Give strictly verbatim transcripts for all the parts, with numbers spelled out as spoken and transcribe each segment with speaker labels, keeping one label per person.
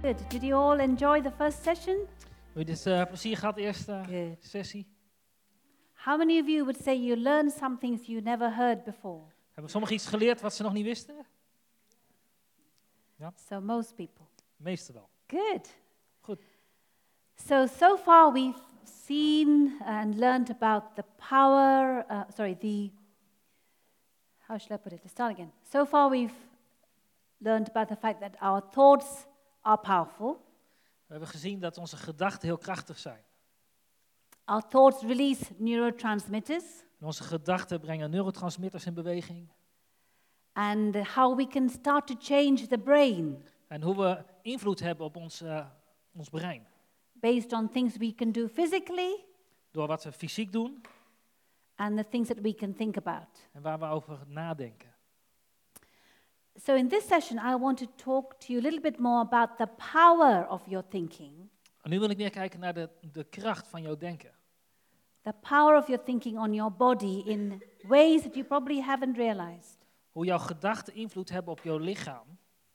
Speaker 1: Good. Did you all enjoy the first session?
Speaker 2: Heb je dit uh, plezier gehad, de eerste
Speaker 1: Good.
Speaker 2: sessie?
Speaker 1: How many of you would say you learned some things you never heard before?
Speaker 2: Hebben sommigen iets geleerd wat ze nog niet wisten?
Speaker 1: So most people.
Speaker 2: Meestal wel.
Speaker 1: Good.
Speaker 2: Goed.
Speaker 1: So, so far we've seen and learned about the power, uh, sorry, the, how shall I put it? Let's start again. So far we've learned about the fact that our thoughts are powerful.
Speaker 2: We hebben gezien dat onze gedachten heel krachtig zijn.
Speaker 1: Our thoughts release neurotransmitters.
Speaker 2: En onze gedachten brengen neurotransmitters in beweging.
Speaker 1: And how we can start to change the brain.
Speaker 2: En hoe we invloed hebben op ons, uh, ons brein.
Speaker 1: Based on things we can do physically.
Speaker 2: Door wat we fysiek doen.
Speaker 1: And the things that we can think about.
Speaker 2: En waar we over nadenken.
Speaker 1: So in this session I want to talk to you a little bit more about the power of your thinking.
Speaker 2: En nu wil ik meer kijken naar de, de kracht van jouw denken.
Speaker 1: The power of your thinking on your body in ways that you probably haven't realized.
Speaker 2: Hoe jouw gedachten invloed hebben op jouw lichaam.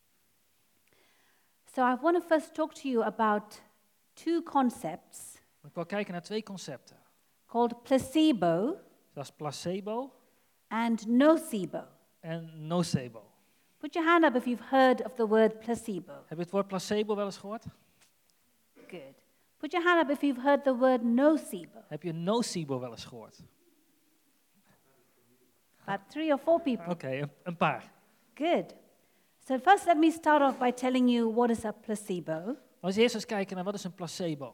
Speaker 1: So I want to first talk to you about two concepts.
Speaker 2: Ik wil kijken naar twee concepten.
Speaker 1: Called placebo.
Speaker 2: Dat is placebo.
Speaker 1: And nocebo.
Speaker 2: En nocebo.
Speaker 1: Put your hand up if you've heard of the word placebo.
Speaker 2: Heb je het woord placebo wel eens gehoord?
Speaker 1: Good. Put your hand up if you've heard the word nocebo.
Speaker 2: Heb je nocebo wel eens gehoord?
Speaker 1: About three or four people.
Speaker 2: Oké, okay, een, een paar.
Speaker 1: Good. So first let me start off by telling you what is a placebo.
Speaker 2: Als we eerst eens kijken naar wat is een placebo.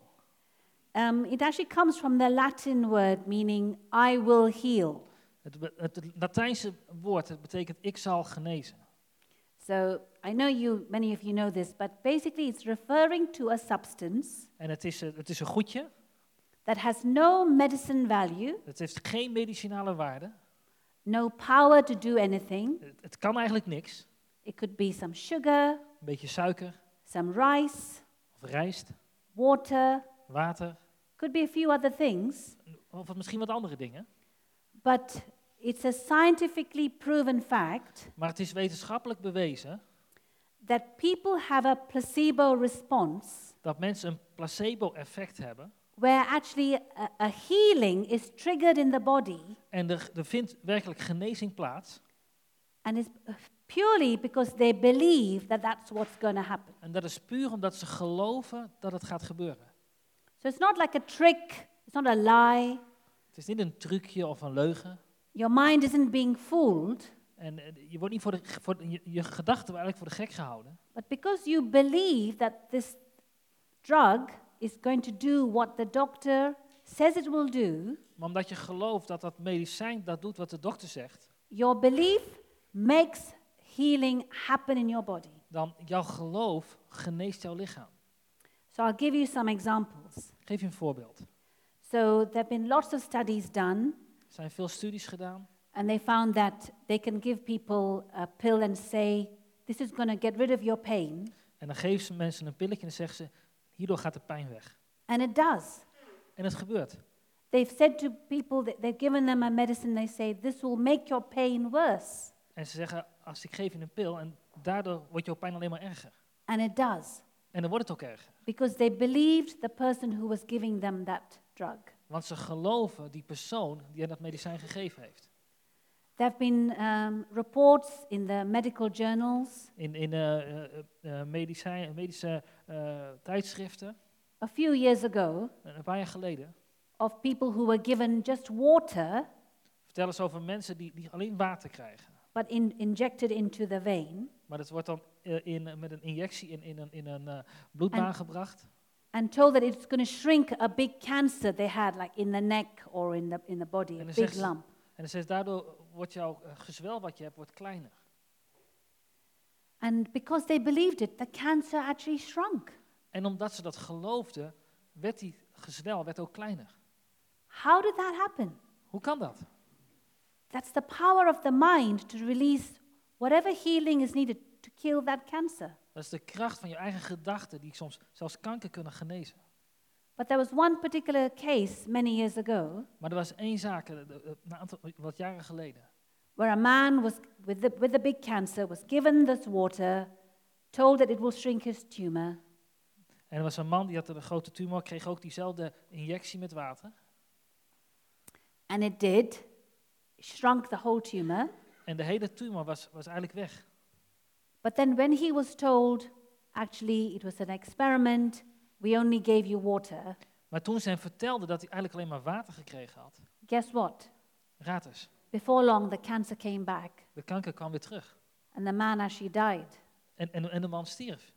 Speaker 1: Um, it actually comes from the Latin word meaning I will heal.
Speaker 2: Het, het, het Latijnse woord het betekent ik zal genezen.
Speaker 1: So I know you, many of you know this, but basically it's referring to a substance.
Speaker 2: En het is, het is een goedje.
Speaker 1: That has no medicine value.
Speaker 2: Het heeft geen medicinale waarde.
Speaker 1: No power to do anything.
Speaker 2: Het, het kan eigenlijk niks.
Speaker 1: It could be some sugar.
Speaker 2: Een beetje suiker.
Speaker 1: Some rice.
Speaker 2: Of rijst.
Speaker 1: Water.
Speaker 2: Water.
Speaker 1: Could be a few other things.
Speaker 2: Of misschien wat andere dingen.
Speaker 1: But it's a scientifically proven fact.
Speaker 2: Maar het is wetenschappelijk bewezen.
Speaker 1: That people have a placebo response.
Speaker 2: Dat mensen een placebo-effect hebben.
Speaker 1: Where actually a, a healing is triggered in the body.
Speaker 2: En er, er vindt werkelijk genezing plaats.
Speaker 1: And it's purely because they believe that that's what's going to happen.
Speaker 2: En dat is puur omdat ze geloven dat het gaat gebeuren.
Speaker 1: So it's not like a trick, it's not a lie.
Speaker 2: Het is niet een trucje of een leugen.
Speaker 1: Your mind isn't being fooled.
Speaker 2: En uh, je wordt niet voor de, voor de, je, je gedachten worden eigenlijk voor de gek gehouden.
Speaker 1: But because you believe that this drug is going to do what the doctor says it will do.
Speaker 2: Maar omdat je gelooft dat dat medicijn dat doet wat de dokter zegt.
Speaker 1: Your belief makes healing happen in your body.
Speaker 2: Dan jouw geloof geneest jouw lichaam.
Speaker 1: So I'll give you some examples.
Speaker 2: Ik geef je een voorbeeld.
Speaker 1: So there have been lots of studies done.
Speaker 2: Er zijn veel studies gedaan.
Speaker 1: And they found that they can give people a pill and say, this is going to get rid of your pain.
Speaker 2: En dan geven ze mensen een pilletje en dan zeggen ze, hierdoor gaat de pijn weg.
Speaker 1: And it does.
Speaker 2: En het gebeurt.
Speaker 1: They've said to people, that they've given them a medicine, they say, this will make your pain worse.
Speaker 2: En ze zeggen, als ik geef je een pil en daardoor wordt jouw pijn alleen maar erger.
Speaker 1: And it does.
Speaker 2: En dan wordt het ook erger.
Speaker 1: Because they believed the person who was giving them that drug.
Speaker 2: Want ze geloven die persoon die hen dat medicijn gegeven heeft.
Speaker 1: There have been um, reports in the medical journals.
Speaker 2: In, in uh, uh, uh, medicijn, medische uh, tijdschriften.
Speaker 1: A few years ago.
Speaker 2: Een paar jaar geleden.
Speaker 1: Of people who were given just water.
Speaker 2: Vertellen ze over mensen die, die alleen water krijgen.
Speaker 1: But in, injected into the vein.
Speaker 2: Maar dat wordt dan uh, in, met een injectie in, in een, in een uh, bloedbaan
Speaker 1: and,
Speaker 2: gebracht.
Speaker 1: And told that it's going to shrink a big cancer they had, like in the neck or in the in the body, a big
Speaker 2: ze,
Speaker 1: lump.
Speaker 2: En dan zegt daardoor wordt jouw uh, gezwel wat je hebt wordt kleiner.
Speaker 1: And because they believed it, the cancer actually shrunk.
Speaker 2: En omdat ze dat geloofden, werd die gezwel werd ook kleiner.
Speaker 1: How did that happen?
Speaker 2: Hoe kan dat?
Speaker 1: That's the power of the mind to release whatever healing is needed to kill that cancer.
Speaker 2: Dat is de kracht van je eigen gedachten die soms zelfs kanker kunnen genezen.
Speaker 1: But there was one particular case many years ago.
Speaker 2: Maar er was één zaak, een aantal wat jaren geleden.
Speaker 1: Where a man was with the with the big cancer was given this water, told that it will shrink his tumor.
Speaker 2: En er was een man die had een grote tumor, kreeg ook diezelfde injectie met water.
Speaker 1: And it did. Shrunk the whole tumor.
Speaker 2: En de hele tumor was, was eigenlijk weg.
Speaker 1: But then when he was told, actually it was an experiment, we only gave you water,
Speaker 2: Maar toen ze hem vertelde dat hij eigenlijk alleen maar water gekregen had,
Speaker 1: guess what?
Speaker 2: raad eens,
Speaker 1: Before long the cancer came back
Speaker 2: de kanker kwam weer terug.
Speaker 1: and the man actually died.
Speaker 2: En, en, en de man stierf.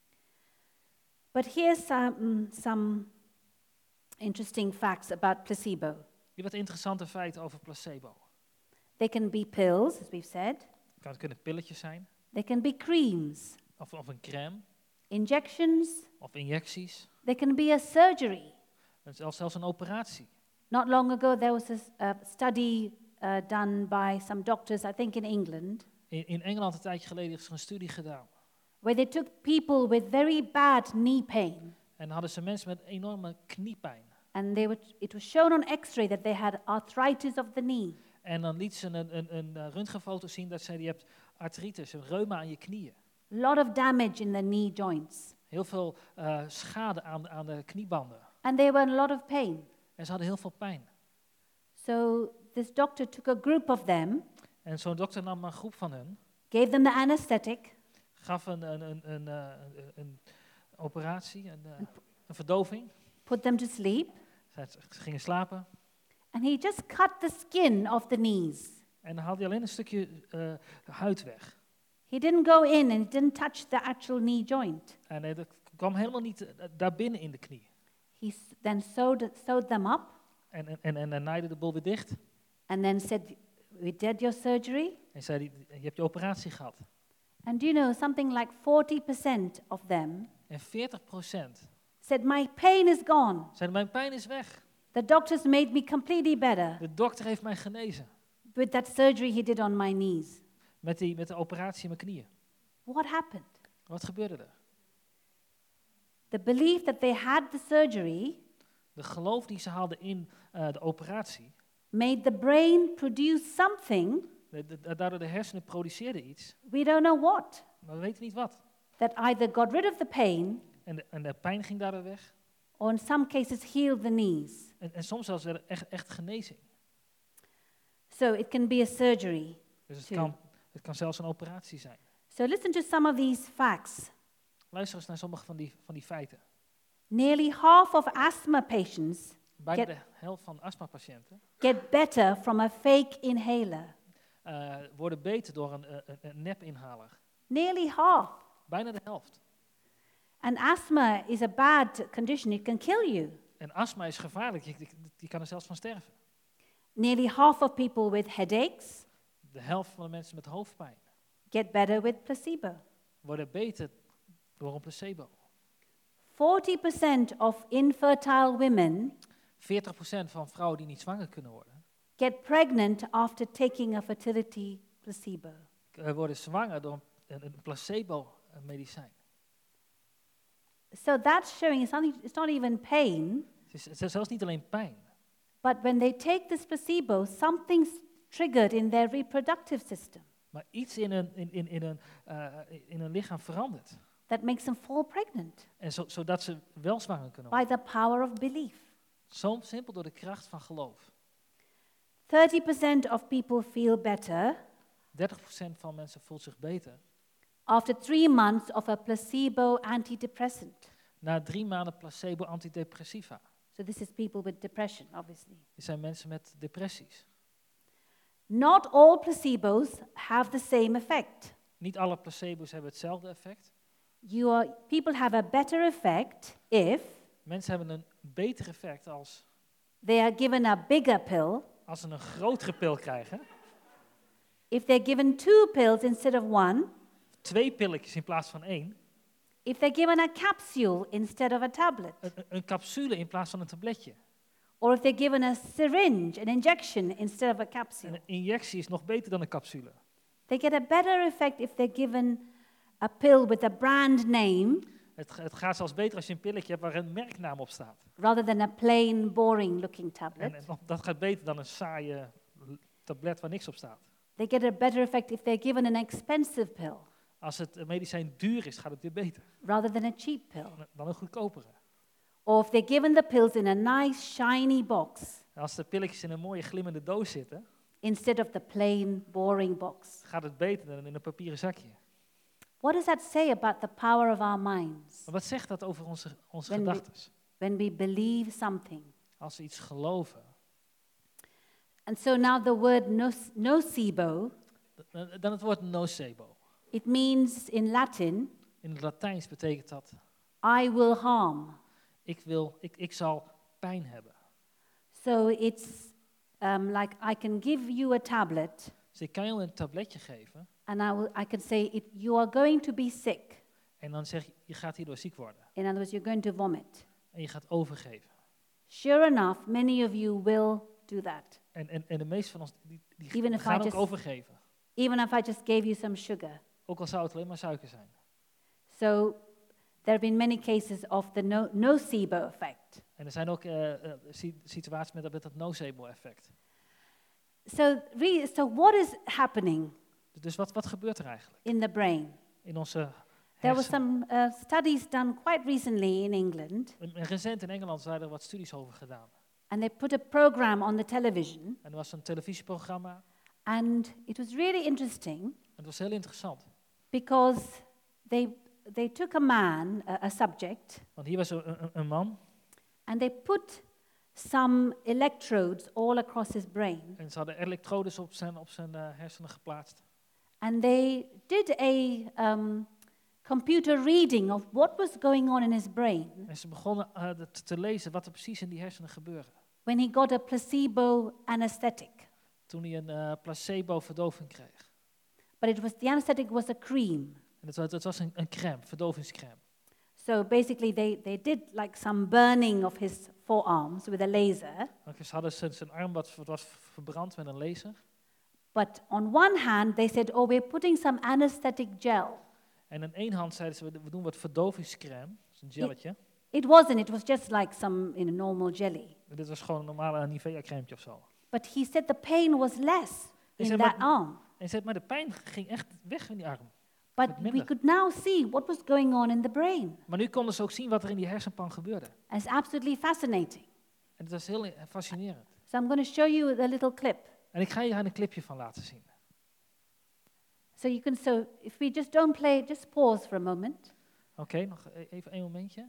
Speaker 1: But here's some, some interesting facts about placebo.
Speaker 2: Hier wat interessante feiten over placebo.
Speaker 1: They can be pills, as we've said.
Speaker 2: Het kunnen pilletjes zijn,
Speaker 1: They can be creams,
Speaker 2: of, of een crème,
Speaker 1: injections.
Speaker 2: of injecties,
Speaker 1: They can be a surgery.
Speaker 2: en zelfs, zelfs een operatie.
Speaker 1: Not long ago, there was a s- a study uh, done by some doctors, I think in England,
Speaker 2: In, in Engeland een tijdje geleden is er een studie gedaan.
Speaker 1: where they took people with very bad knee pain.
Speaker 2: En dan hadden ze mensen met enorme kniepijn.
Speaker 1: And they were, it was shown on x-ray that they had arthritis of the knee.
Speaker 2: En dan liet ze een, een, een eh, röntgenfoto zien dat zei, je hebt artritis, een reuma aan je knieën.
Speaker 1: A lot of damage in the knee joints.
Speaker 2: Heel veel eh, schade aan, de- aan de kniebanden.
Speaker 1: And they were in a lot of pain.
Speaker 2: En ze hadden heel veel pijn.
Speaker 1: So this doctor took a group of them,
Speaker 2: En zo'n dokter nam een groep van hun,
Speaker 1: gave them the anesthetic,
Speaker 2: gaf een, een, een, een, eh, een, een operatie, een, eh, een verdoving.
Speaker 1: put them to sleep,
Speaker 2: Ze ze gingen slapen.
Speaker 1: and he just cut the skin off the knees.
Speaker 2: En dan haalde hij alleen een stukje eh, huid weg.
Speaker 1: He didn't go in and he didn't touch the actual knee joint.
Speaker 2: En eh, dat kwam helemaal niet eh, daar binnen in de knie.
Speaker 1: He s- then sewed, sewed them up
Speaker 2: En, en, en, en dan naaide de boel weer dicht.
Speaker 1: and then said, we did your surgery.
Speaker 2: En zei hij, je hebt je operatie gehad.
Speaker 1: And do you know, something like forty percent of them
Speaker 2: En veertig procent
Speaker 1: said, my pain is gone.
Speaker 2: zeiden, mijn pijn is weg.
Speaker 1: The doctors made me completely better
Speaker 2: De dokter heeft mij genezen.
Speaker 1: with that surgery he did on my knees.
Speaker 2: Met, die, met de operatie in mijn knieën.
Speaker 1: What happened?
Speaker 2: Wat gebeurde er?
Speaker 1: The belief that they had the surgery
Speaker 2: De geloof die ze hadden in eh, de operatie,
Speaker 1: made the brain produce something,
Speaker 2: de, de, daardoor de hersenen produceerden iets,
Speaker 1: we don't know what,
Speaker 2: maar we weten niet wat.
Speaker 1: that either got rid of the pain
Speaker 2: En de, en de pijn ging daardoor weg.
Speaker 1: or in some cases healed the knees.
Speaker 2: En, en soms zelfs werd er echt, echt genezing.
Speaker 1: So it can be a surgery.
Speaker 2: Dus het
Speaker 1: Too.
Speaker 2: kan, het kan zelfs een operatie zijn.
Speaker 1: So listen to some of these facts.
Speaker 2: Luister eens naar sommige van die, van die feiten.
Speaker 1: Nearly half of asthma patients
Speaker 2: Bijna
Speaker 1: Get-
Speaker 2: de helft van astmapatiënten
Speaker 1: get better from a fake inhaler.
Speaker 2: uh, worden beter door een, uh, een, een nepinhaler.
Speaker 1: Nearly half.
Speaker 2: Bijna de helft.
Speaker 1: And asthma is a bad condition, it can kill you.
Speaker 2: En astma is gevaarlijk, je, je, je kan er zelfs van sterven.
Speaker 1: Nearly half of people with headaches
Speaker 2: De helft van de mensen met hoofdpijn
Speaker 1: get better with placebo.
Speaker 2: worden beter door een placebo.
Speaker 1: forty percent of infertile women
Speaker 2: veertig procent van vrouwen die niet zwanger kunnen worden,
Speaker 1: get pregnant after taking a fertility placebo.
Speaker 2: uh, worden zwanger door een, een placebo-medicijn.
Speaker 1: So that's showing it's not, it's not even pain,
Speaker 2: Het is, het is zelfs niet alleen pijn.
Speaker 1: but when they take this placebo, something's triggered in their reproductive system
Speaker 2: Maar iets in een, in, in, in een, uh, in een lichaam verandert.
Speaker 1: that makes them fall pregnant
Speaker 2: En zo, zodat ze wel zwanger kunnen
Speaker 1: by
Speaker 2: worden.
Speaker 1: the power of belief.
Speaker 2: Zo simpel door de kracht van geloof.
Speaker 1: thirty percent of people feel better
Speaker 2: dertig procent van mensen voelt zich beter
Speaker 1: after three months of a placebo antidepressant.
Speaker 2: na drie maanden placebo-antidepressiva.
Speaker 1: So this is people with depression, obviously.
Speaker 2: Dit zijn mensen met depressies.
Speaker 1: Not all placebos have the same effect.
Speaker 2: Niet alle placebo's hebben hetzelfde effect.
Speaker 1: You are, people have a better effect if
Speaker 2: Mensen hebben een beter effect als,
Speaker 1: they are given a bigger pill,
Speaker 2: als ze een grotere pil krijgen.
Speaker 1: if they're given two pills instead of one,
Speaker 2: Twee pilletjes in plaats van één.
Speaker 1: if they're given a capsule instead of a tablet,
Speaker 2: Een, een- een capsule in plaats van een tabletje.
Speaker 1: or if they're given a syringe, an injection instead of a
Speaker 2: En
Speaker 1: capsule.
Speaker 2: een injectie is nog beter dan een capsule.
Speaker 1: They get a better effect if they're given a pill with a brand name
Speaker 2: Het, het gaat zelfs beter als je een pilletje hebt waar een merknaam op staat.
Speaker 1: rather than a plain, boring looking tablet.
Speaker 2: En, en nog- dat gaat beter dan een saaie l- tablet waar niks op staat.
Speaker 1: They get a better effect if they're given an expensive pill.
Speaker 2: Als het medicijn duur is, gaat het weer beter
Speaker 1: rather than a cheap pill.
Speaker 2: dan een goedkopere.
Speaker 1: Or if they're given the pills in a nice shiny box
Speaker 2: En als de pilletjes in een mooie glimmende doos zitten,
Speaker 1: instead of the plain boring box.
Speaker 2: gaat het beter dan in een papieren zakje.
Speaker 1: What does that say about the power of our minds
Speaker 2: Maar wat zegt dat over onze, onze
Speaker 1: When we-
Speaker 2: gedachten?
Speaker 1: when we believe something?
Speaker 2: Als we iets geloven.
Speaker 1: And so now the word nos- nocebo,
Speaker 2: Dan dan het woord nocebo.
Speaker 1: it means in Latin,
Speaker 2: In het Latijns betekent dat,
Speaker 1: I will harm.
Speaker 2: ik, wil, ik, ik zal pijn hebben.
Speaker 1: So it's um, like I can give you a tablet
Speaker 2: Dus ik kan je een tabletje geven
Speaker 1: and I, will, I can say, it, you are going to be sick.
Speaker 2: en dan zeg je, je gaat hierdoor ziek worden.
Speaker 1: In other words, you're going to vomit.
Speaker 2: En je gaat overgeven.
Speaker 1: Sure enough, many of you will do that,
Speaker 2: En, en, en de meeste van ons, die, die
Speaker 1: Even if I
Speaker 2: gaan ook
Speaker 1: just-
Speaker 2: overgeven.
Speaker 1: even if I just gave you some sugar.
Speaker 2: Ook al zou het alleen maar suiker zijn.
Speaker 1: So there have been many cases of the no- nocebo effect.
Speaker 2: En er zijn ook uh, uh, si- situaties met, met dat nocebo-effect.
Speaker 1: So, re- so what is happening
Speaker 2: Dus wat, wat gebeurt er eigenlijk
Speaker 1: in the brain?
Speaker 2: in onze
Speaker 1: There were
Speaker 2: hersenen?
Speaker 1: some uh, studies done quite recently in England,
Speaker 2: En recent in Engeland zijn er wat studies over gedaan.
Speaker 1: and they put a program on the television,
Speaker 2: En er was een televisieprogramma
Speaker 1: and it was really interesting
Speaker 2: en het was heel interessant.
Speaker 1: because they they took a man, a, a subject,
Speaker 2: Want hier was een, een, een man
Speaker 1: and they put some electrodes all across his brain,
Speaker 2: en ze hadden elektrodes op zijn, op zijn uh, hersenen geplaatst.
Speaker 1: and they did a um, computer reading of what was going on in his brain
Speaker 2: En ze begonnen uh, de- te, te lezen wat er precies in die hersenen gebeurde.
Speaker 1: when he got a placebo anesthetic.
Speaker 2: Toen hij een uh, placebo-verdoving kreeg.
Speaker 1: But it was the anesthetic was a cream.
Speaker 2: En het was, het was een, een crème, verdovingscrème.
Speaker 1: So basically, they, they did like some burning of his forearms with a laser.
Speaker 2: Want ze hadden zijn, zijn arm wat, wat was verbrand met een laser.
Speaker 1: But on one hand, they said, oh, we're putting some anesthetic gel.
Speaker 2: En aan één hand zeiden ze, we we doen wat verdovingscrème, dat is een gelletje.
Speaker 1: It wasn't, it was just like some in a normal jelly.
Speaker 2: En dit was gewoon een normale Nivea-crème of zo.
Speaker 1: But he said the pain was less in
Speaker 2: said,
Speaker 1: that
Speaker 2: but-
Speaker 1: arm.
Speaker 2: En ze zei, maar de pijn ging echt weg in die arm.
Speaker 1: But
Speaker 2: Wat
Speaker 1: we
Speaker 2: minder.
Speaker 1: could now see what was going on in the brain.
Speaker 2: Maar nu konden ze ook zien wat er in die hersenpan gebeurde.
Speaker 1: And it's absolutely fascinating.
Speaker 2: En het was heel eh, fascinerend.
Speaker 1: So I'm going to show you a little clip.
Speaker 2: En ik ga je daar een clipje van laten zien.
Speaker 1: So you can, so if we just don't play, just pause for a moment.
Speaker 2: Oké, nog e- even één momentje.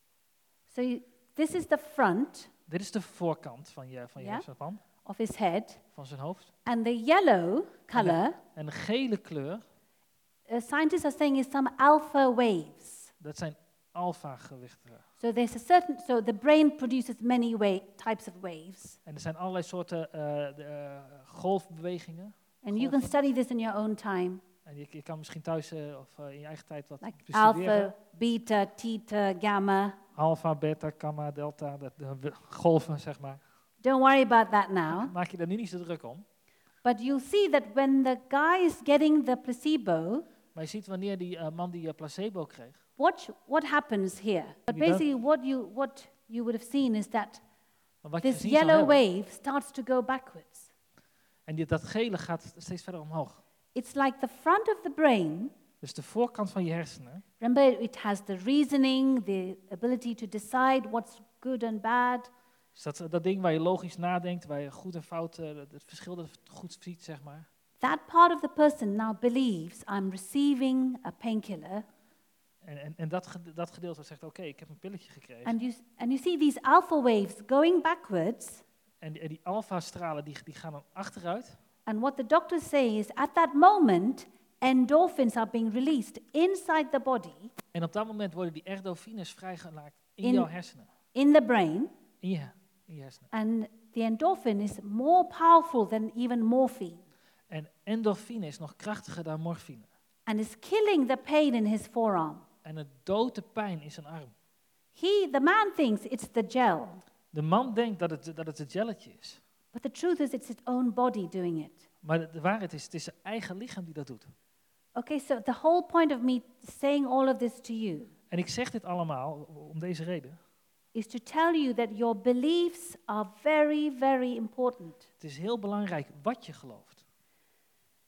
Speaker 1: So you, this is the front
Speaker 2: Dit is de voorkant van je, van je
Speaker 1: Ja.
Speaker 2: hersenpan,
Speaker 1: of his head.
Speaker 2: van zijn hoofd.
Speaker 1: And the yellow color,
Speaker 2: En de gele kleur,
Speaker 1: uh, scientists are saying is some alpha waves.
Speaker 2: dat zijn alfa-gewichten.
Speaker 1: So there's a certain, so the brain produces many way, types of waves.
Speaker 2: En er zijn allerlei soorten eh, de, eh, golfbewegingen.
Speaker 1: And you can
Speaker 2: Golven.
Speaker 1: study this in your own time,
Speaker 2: En je, je kan misschien thuis eh, of eh, in je eigen tijd wat
Speaker 1: like
Speaker 2: bestuderen.
Speaker 1: alpha, beta, theta, gamma.
Speaker 2: Alpha, beta, gamma, delta, de, de we- golven, zeg maar.
Speaker 1: Don't worry about that now.
Speaker 2: Maak je daar nu niet zo druk om.
Speaker 1: But you'll see that when the guy is getting the placebo,
Speaker 2: Maar je ziet wanneer die eh, man die eh, placebo kreeg,
Speaker 1: watch what happens here. But
Speaker 2: Wie dan?
Speaker 1: basically, what you what you would have seen is that
Speaker 2: maar wat je
Speaker 1: this
Speaker 2: gezien zal
Speaker 1: yellow
Speaker 2: hebben,
Speaker 1: wave starts to go backwards.
Speaker 2: en die, dat gele gaat steeds verder omhoog.
Speaker 1: It's like the front of the brain.
Speaker 2: Dus de voorkant van je hersenen,
Speaker 1: Remember, it has the reasoning, the ability to decide what's good and bad.
Speaker 2: dus dat, dat ding waar je logisch nadenkt, waar je goed en fout, eh, het verschil dat goed ziet, zeg maar.
Speaker 1: That part of the person now believes I'm receiving a painkiller,
Speaker 2: En, en, en dat, gede- dat gedeelte zegt, oké, ik heb een pilletje gekregen.
Speaker 1: and you s- and you see these alpha waves going backwards.
Speaker 2: En die, en die alfa-stralen die, die gaan dan achteruit.
Speaker 1: And what the doctors say is, at that moment, endorphins are being released inside the body,
Speaker 2: En op dat moment worden die endorfines vrijgemaakt in,
Speaker 1: In-
Speaker 2: jouw hersenen.
Speaker 1: in the brain,
Speaker 2: In je, in je hersenen.
Speaker 1: and the endorphin is more powerful than even morphine,
Speaker 2: En endorfine is nog krachtiger dan morfine.
Speaker 1: and is killing the pain in his forearm.
Speaker 2: En het doodt de pijn in zijn arm.
Speaker 1: He, the man thinks it's the gel,
Speaker 2: De man denkt dat het, dat het een gelletje is.
Speaker 1: but the truth is it's its own body doing it.
Speaker 2: Maar de, de waarheid is, het is zijn eigen lichaam die dat doet.
Speaker 1: Okay, so the whole point of me saying all of this to you
Speaker 2: En ik zeg dit allemaal om deze reden.
Speaker 1: is to tell you that your beliefs are very, very important.
Speaker 2: Het is heel belangrijk wat je gelooft.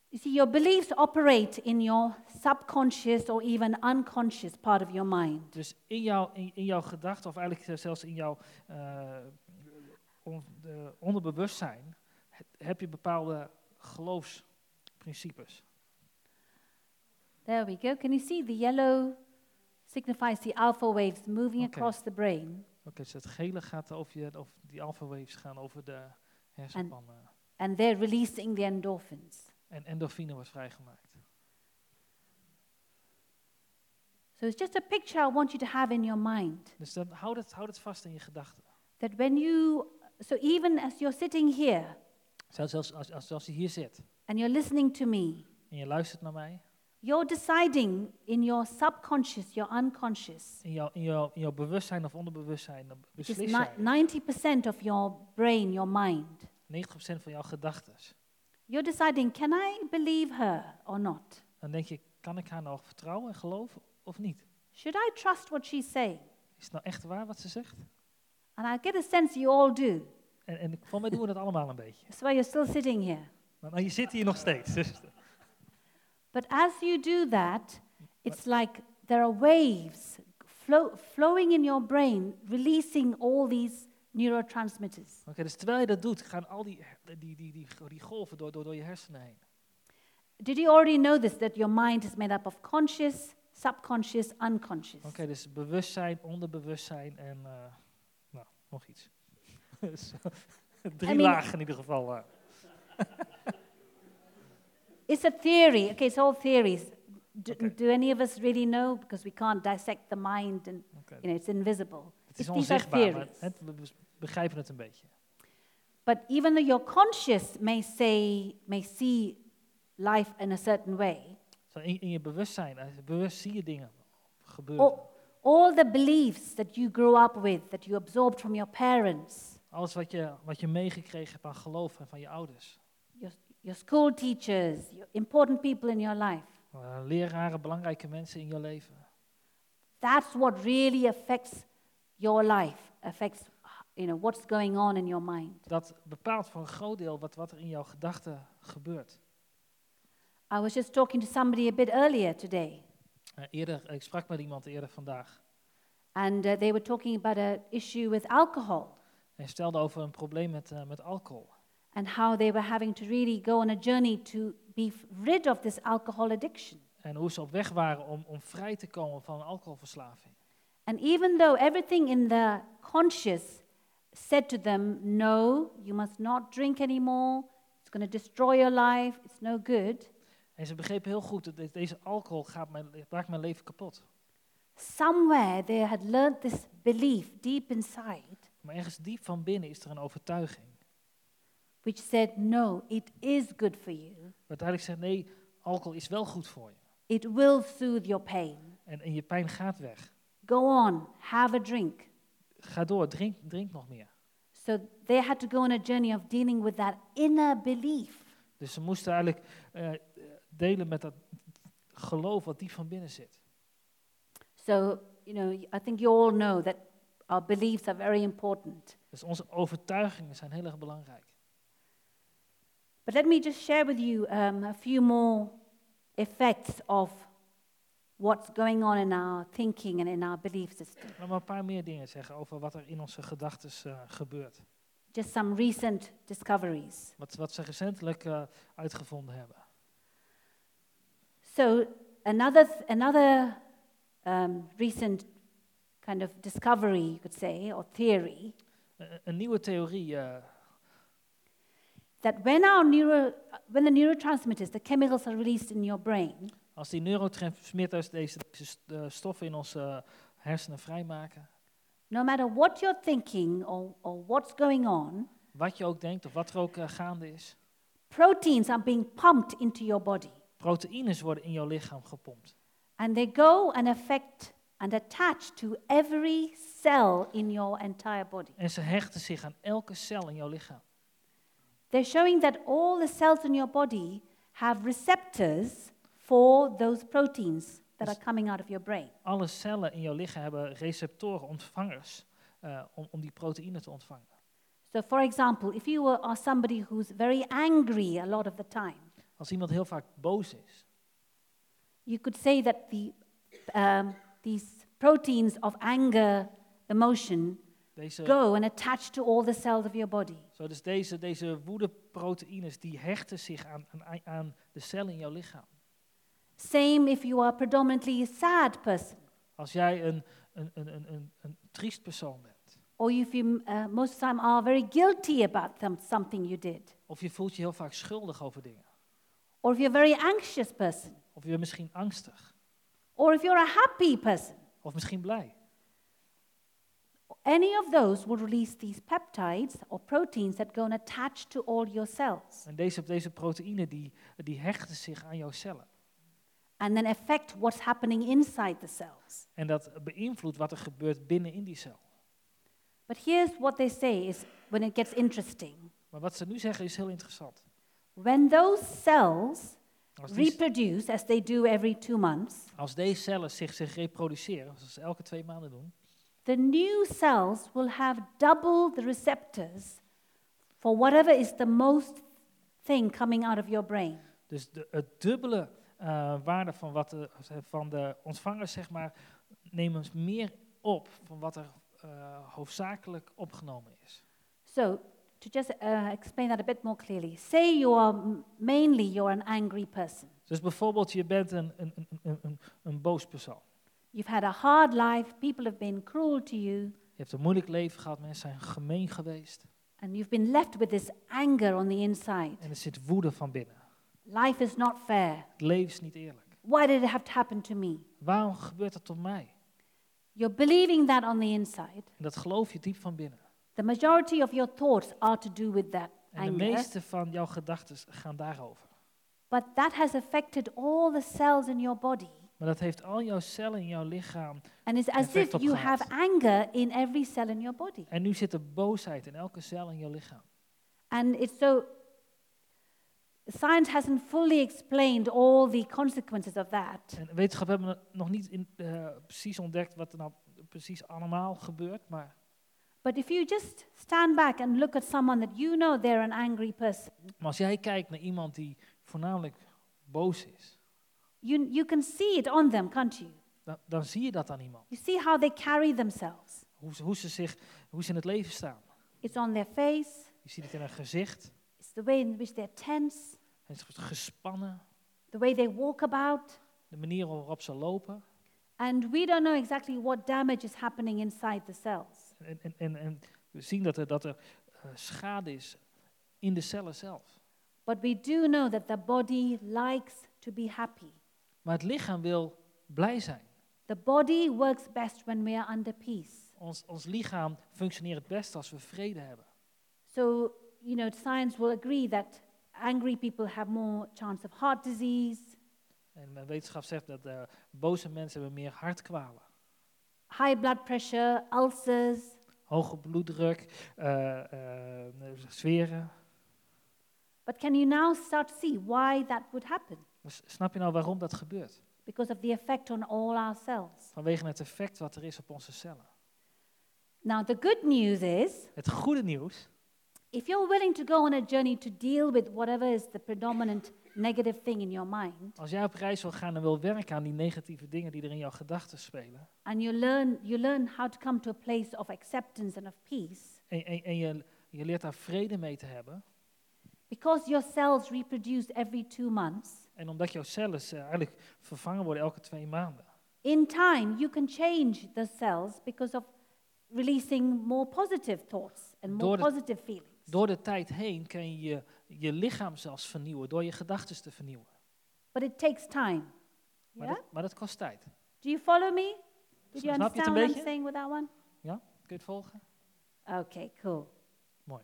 Speaker 1: You see, your beliefs operate in your subconscious or even unconscious part of your mind.
Speaker 2: Dus in, jou, in, in jouw gedachten, of eigenlijk zelfs in jouw uh, on, de onderbewustzijn, heb je bepaalde geloofsprincipes.
Speaker 1: There we go. Can you see the yellow signifies the alpha waves moving
Speaker 2: Okay.
Speaker 1: across the brain,
Speaker 2: Oké, okay, dus het gele gaat over je, of die alpha waves gaan over de hersenpannen.
Speaker 1: and they're releasing the endorphins.
Speaker 2: En endorfine wordt vrijgemaakt.
Speaker 1: So it's just a picture I want you to have in your mind.
Speaker 2: Dus dan houd het, houd het vast in je gedachten.
Speaker 1: That when you, so even as you're sitting here
Speaker 2: Zelfs als, als, als, als je hier zit
Speaker 1: and you're listening to me,
Speaker 2: en je luistert naar mij,
Speaker 1: you're deciding in your subconscious, your unconscious,
Speaker 2: in jouw, in jouw, in jouw bewustzijn of onderbewustzijn, dan
Speaker 1: which is
Speaker 2: beslis jij
Speaker 1: ninety percent of your brain, your mind.
Speaker 2: negentig procent van jouw gedachten.
Speaker 1: You're deciding, can I believe her or not?
Speaker 2: Dan denk je, kan ik haar nou vertrouwen en geloven of niet?
Speaker 1: Should I trust what she's saying?
Speaker 2: Is het nou echt waar wat ze zegt?
Speaker 1: And I get a sense you all do.
Speaker 2: En, en voor mij doen we dat allemaal een beetje.
Speaker 1: That's why you're still sitting here.
Speaker 2: Maar, maar je zit hier nog steeds. Dus,
Speaker 1: But as you do that, it's like there are waves flow, flowing in your brain, releasing all these neurotransmitters.
Speaker 2: Oké, dus terwijl je dat doet, gaan al die, die, die, die, die golven door, door, door je hersenen heen.
Speaker 1: Did you already know this, that your mind is made up of conscious, subconscious, unconscious?
Speaker 2: Oké, dus bewustzijn, onderbewustzijn en uh, nou, nog iets. Dus, drie
Speaker 1: I mean-
Speaker 2: lagen in ieder geval. Uh.
Speaker 1: It's a theory. Okay, it's all theories. Do,
Speaker 2: Okay.
Speaker 1: do any of us really know? Because we can't dissect the mind and,
Speaker 2: Okay.
Speaker 1: you know, it's invisible.
Speaker 2: Het is
Speaker 1: It's- these are
Speaker 2: onzichtbaar, maar
Speaker 1: theories.
Speaker 2: het, we bes- begrijpen het een beetje.
Speaker 1: But even though your conscious may say, may see life in a certain way,
Speaker 2: Zo in, in je bewustzijn, uh, bewust zie je dingen gebeuren.
Speaker 1: all, all the beliefs that you grew up with, that you absorbed from your parents,
Speaker 2: Alles wat je, wat je meegekregen hebt aan geloof en van je ouders.
Speaker 1: your, your school teachers, your important people in your life,
Speaker 2: Uh, leraren, belangrijke mensen in je leven.
Speaker 1: that's what really affects your life, affects, you know, what's going on in your mind.
Speaker 2: Dat bepaalt voor een groot deel wat, wat er in jouw gedachten gebeurt.
Speaker 1: I was just talking to somebody a bit earlier today,
Speaker 2: Uh, eerder, ik sprak met iemand eerder vandaag.
Speaker 1: and uh, they were talking about an issue with alcohol
Speaker 2: En stelde over een probleem met, uh, met alcohol.
Speaker 1: and how they were having to really go on a journey to be f- rid of this alcohol addiction.
Speaker 2: En hoe ze op weg waren om, om vrij te komen van een alcoholverslaving.
Speaker 1: And even though everything in the conscious said to them, no, you must not drink anymore, it's going to destroy your life, it's no good,
Speaker 2: En ze begrepen heel goed dat de- deze alcohol gaat mijn, maakt mijn leven kapot.
Speaker 1: somewhere they had learned this belief deep inside,
Speaker 2: Maar ergens diep van binnen is er een overtuiging.
Speaker 1: which said, no, it is good for you.
Speaker 2: Wat uiteindelijk zegt, nee, alcohol is wel goed voor je.
Speaker 1: It will soothe your pain.
Speaker 2: En, en je pijn gaat weg.
Speaker 1: Go on, have a drink.
Speaker 2: Ga door, drink, drink nog meer.
Speaker 1: So they had to go on a journey of dealing with that inner belief.
Speaker 2: Dus ze moesten eigenlijk uh, delen met dat geloof wat diep van binnen zit.
Speaker 1: So, you know, I think you all know that our beliefs are very important.
Speaker 2: Dus onze overtuigingen zijn heel erg belangrijk.
Speaker 1: But let me just share with you um, a few more effects of what's going on in our thinking and in our belief system.
Speaker 2: Laat maar een paar meer dingen zeggen over wat er in onze gedachten uh, gebeurt.
Speaker 1: Just some recent discoveries.
Speaker 2: Wat, wat ze recentelijk uh, uitgevonden hebben.
Speaker 1: So another th- another um, recent kind of discovery, you could say, or theory,
Speaker 2: Uh, een nieuwe theorie uh,
Speaker 1: that when our neuro, when the neurotransmitters, the chemicals are released in your brain,
Speaker 2: als die neurotransmitters deze, deze st- uh, stoffen in onze uh, hersenen vrijmaken,
Speaker 1: no matter what you're thinking or, or what's going on,
Speaker 2: wat je ook denkt of wat er ook uh, gaande is,
Speaker 1: proteins are being pumped into your body.
Speaker 2: proteïnes worden in jouw lichaam gepompt.
Speaker 1: And they go and affect and attach to every cell in your entire body.
Speaker 2: En ze hechten zich aan elke cel in jouw lichaam.
Speaker 1: They're showing that all the cells in your body have receptors for those proteins that are coming out of your brain.
Speaker 2: Alle cellen in jouw lichaam hebben receptoren, ontvangers, uh, om, om die proteïnen te ontvangen.
Speaker 1: So for example, if you were, are somebody who's very angry a lot of the time,
Speaker 2: Als iemand heel vaak boos is,
Speaker 1: you could say that the, um, these proteins of anger, emotion,
Speaker 2: deze,
Speaker 1: go and attach to all the cells of your body.
Speaker 2: zo dus deze, deze woedeproteïnes die hechten zich aan, aan, aan de cellen in jouw lichaam.
Speaker 1: Same if you are predominantly a sad person,
Speaker 2: Als jij een, een, een, een, een, een triest persoon bent,
Speaker 1: or if you uh, most of the time are very guilty about them, something you did,
Speaker 2: of je voelt je heel vaak schuldig over dingen,
Speaker 1: or if you're a very anxious person,
Speaker 2: of je bent misschien angstig,
Speaker 1: or if you're a happy person,
Speaker 2: of misschien blij.
Speaker 1: any of those will release these peptides or proteins that go and attach to all your cells
Speaker 2: En deze, deze proteïnen die, die hechten zich aan jouw cellen.
Speaker 1: and then affect what's happening inside the cells.
Speaker 2: En dat beïnvloedt wat er gebeurt binnen in die cel.
Speaker 1: But here's what they say is when it gets interesting.
Speaker 2: Maar wat ze nu zeggen is heel interessant.
Speaker 1: When those cells
Speaker 2: Als, die,
Speaker 1: reproduce, as they do every two months,
Speaker 2: als deze cellen zich, zich reproduceren, zoals ze elke twee maanden doen,
Speaker 1: the new cells will have double the receptors for whatever is the most thing coming out of your brain.
Speaker 2: dus de, het dubbele uh, waarde van, wat de, van de ontvangers, zeg maar, nemen meer op van wat er uh, hoofdzakelijk opgenomen is.
Speaker 1: So, to just uh, explain that a bit more clearly, say you are m- mainly you're an angry person.
Speaker 2: Dus bijvoorbeeld, je bent een, een, een, een, een, een boos persoon.
Speaker 1: You've had a hard life, people have been cruel to you,
Speaker 2: Je hebt een moeilijk leven gehad, mensen zijn gemeen geweest.
Speaker 1: and you've been left with this anger on the inside.
Speaker 2: En er zit woede van binnen.
Speaker 1: Life is not fair.
Speaker 2: Het leven is niet eerlijk.
Speaker 1: Why did it have to happen to me?
Speaker 2: Waarom gebeurt dat tot mij?
Speaker 1: You're believing that on the inside.
Speaker 2: En dat geloof je diep van binnen.
Speaker 1: The majority of your thoughts are to do with that
Speaker 2: En de
Speaker 1: anger.
Speaker 2: meeste van jouw gedachten gaan daarover.
Speaker 1: But that has affected all the cells in your body.
Speaker 2: Maar dat heeft al jouw cellen in jouw lichaam.
Speaker 1: And it's as
Speaker 2: Effect
Speaker 1: if
Speaker 2: op
Speaker 1: you
Speaker 2: gehad.
Speaker 1: have anger in every cell in your body.
Speaker 2: En nu zit er boosheid in elke cel in jouw lichaam.
Speaker 1: And it's so, science hasn't fully explained all the consequences of that.
Speaker 2: En wetenschap hebben nog niet in, uh, precies ontdekt wat er nou precies allemaal gebeurt. Maar
Speaker 1: But if you just stand back and look at someone that you know they're an angry person,
Speaker 2: Maar als jij kijkt naar iemand die voornamelijk boos is,
Speaker 1: you, you can see it on them, can't you?
Speaker 2: dan, dan zie je dat aan iemand.
Speaker 1: You see how they carry themselves.
Speaker 2: Hoe ze, hoe, ze zich, hoe ze in het leven staan.
Speaker 1: It's on their face,
Speaker 2: Je ziet het in hun gezicht.
Speaker 1: it's the way in which they're tense,
Speaker 2: Het is gespannen.
Speaker 1: the way they walk about.
Speaker 2: De manier waarop ze lopen.
Speaker 1: And we don't know exactly what damage is happening inside the cells.
Speaker 2: En, en, en, en we zien dat er, dat er uh, schade is in de cellen zelf.
Speaker 1: But we do know that the body likes to be happy.
Speaker 2: Maar het lichaam wil blij zijn.
Speaker 1: The body works best when we are under peace.
Speaker 2: Ons, ons lichaam functioneert het best als we vrede hebben.
Speaker 1: So, you know, science will agree that angry people have more chance of heart disease,
Speaker 2: En mijn wetenschap zegt dat uh, boze mensen hebben meer hartkwalen.
Speaker 1: high blood pressure, ulcers.
Speaker 2: Hoge bloeddruk, uh, uh, zweren.
Speaker 1: But can you now start to see why that would happen?
Speaker 2: Maar s- snap je nou waarom dat gebeurt?
Speaker 1: Because of the effect on all our cells.
Speaker 2: Vanwege het effect wat er is op onze cellen.
Speaker 1: Now, the good news is,
Speaker 2: Het goede nieuws,
Speaker 1: if you're willing to go on a journey to deal with whatever is the predominant negative thing in your mind,
Speaker 2: als jij op reis wil gaan en wil werken aan die negatieve dingen die er in jouw gedachten spelen,
Speaker 1: and you learn, you learn how to come to a place of acceptance and of peace,
Speaker 2: en, en, en je, je leert daar vrede mee te hebben,
Speaker 1: because your cells reproduce every two months,
Speaker 2: en omdat jouw cellen uh, eigenlijk vervangen worden elke twee maanden,
Speaker 1: in time you can change the cells because of releasing more positive thoughts and more
Speaker 2: Door de-
Speaker 1: positive feelings.
Speaker 2: door de tijd heen kan je je, je lichaam zelfs vernieuwen, door je gedachten te vernieuwen.
Speaker 1: But it takes time.
Speaker 2: Maar,
Speaker 1: Yeah?
Speaker 2: dat, maar dat kost tijd.
Speaker 1: Do you follow me? Did you
Speaker 2: Snap je het
Speaker 1: understand
Speaker 2: een
Speaker 1: what I'm
Speaker 2: beetje?
Speaker 1: saying with that one?
Speaker 2: Ja? Kun je het volgen?
Speaker 1: Okay, cool.
Speaker 2: Mooi.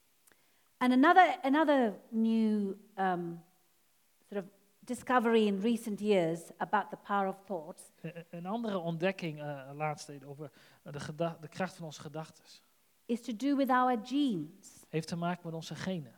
Speaker 1: And another another new um, sort of discovery in recent years about the power of thoughts
Speaker 2: E- e- Een andere ontdekking uh, laatst over de, geda- de kracht van onze gedachten
Speaker 1: is to do with our genes.
Speaker 2: heeft te maken met onze genen.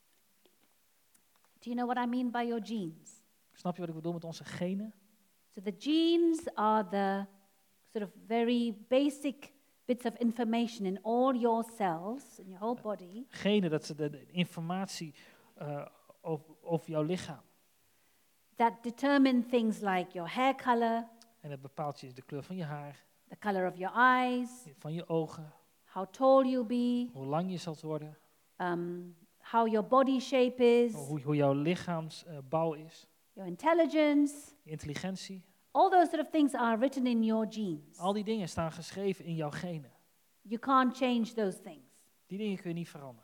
Speaker 1: Do you know what I mean by your genes?
Speaker 2: Snap je wat ik bedoel met onze genen?
Speaker 1: So the genes are the sort of very basic bits of information in all your cells, in your whole body,
Speaker 2: Genen, dat ze de, de informatie uh, over, over jouw lichaam.
Speaker 1: that determine things like your hair color,
Speaker 2: En dat bepaalt je de kleur van je haar,
Speaker 1: the color of your eyes,
Speaker 2: van je ogen,
Speaker 1: how tall you'll be,
Speaker 2: hoe lang je zult worden,
Speaker 1: um, how your body shape is,
Speaker 2: hoe, hoe jouw lichaamsbouw uh, is,
Speaker 1: your intelligence.
Speaker 2: je intelligentie.
Speaker 1: All those sort of things are written in your genes.
Speaker 2: Al die dingen staan geschreven in jouw genen.
Speaker 1: You can't change those things.
Speaker 2: Die dingen kun je niet veranderen.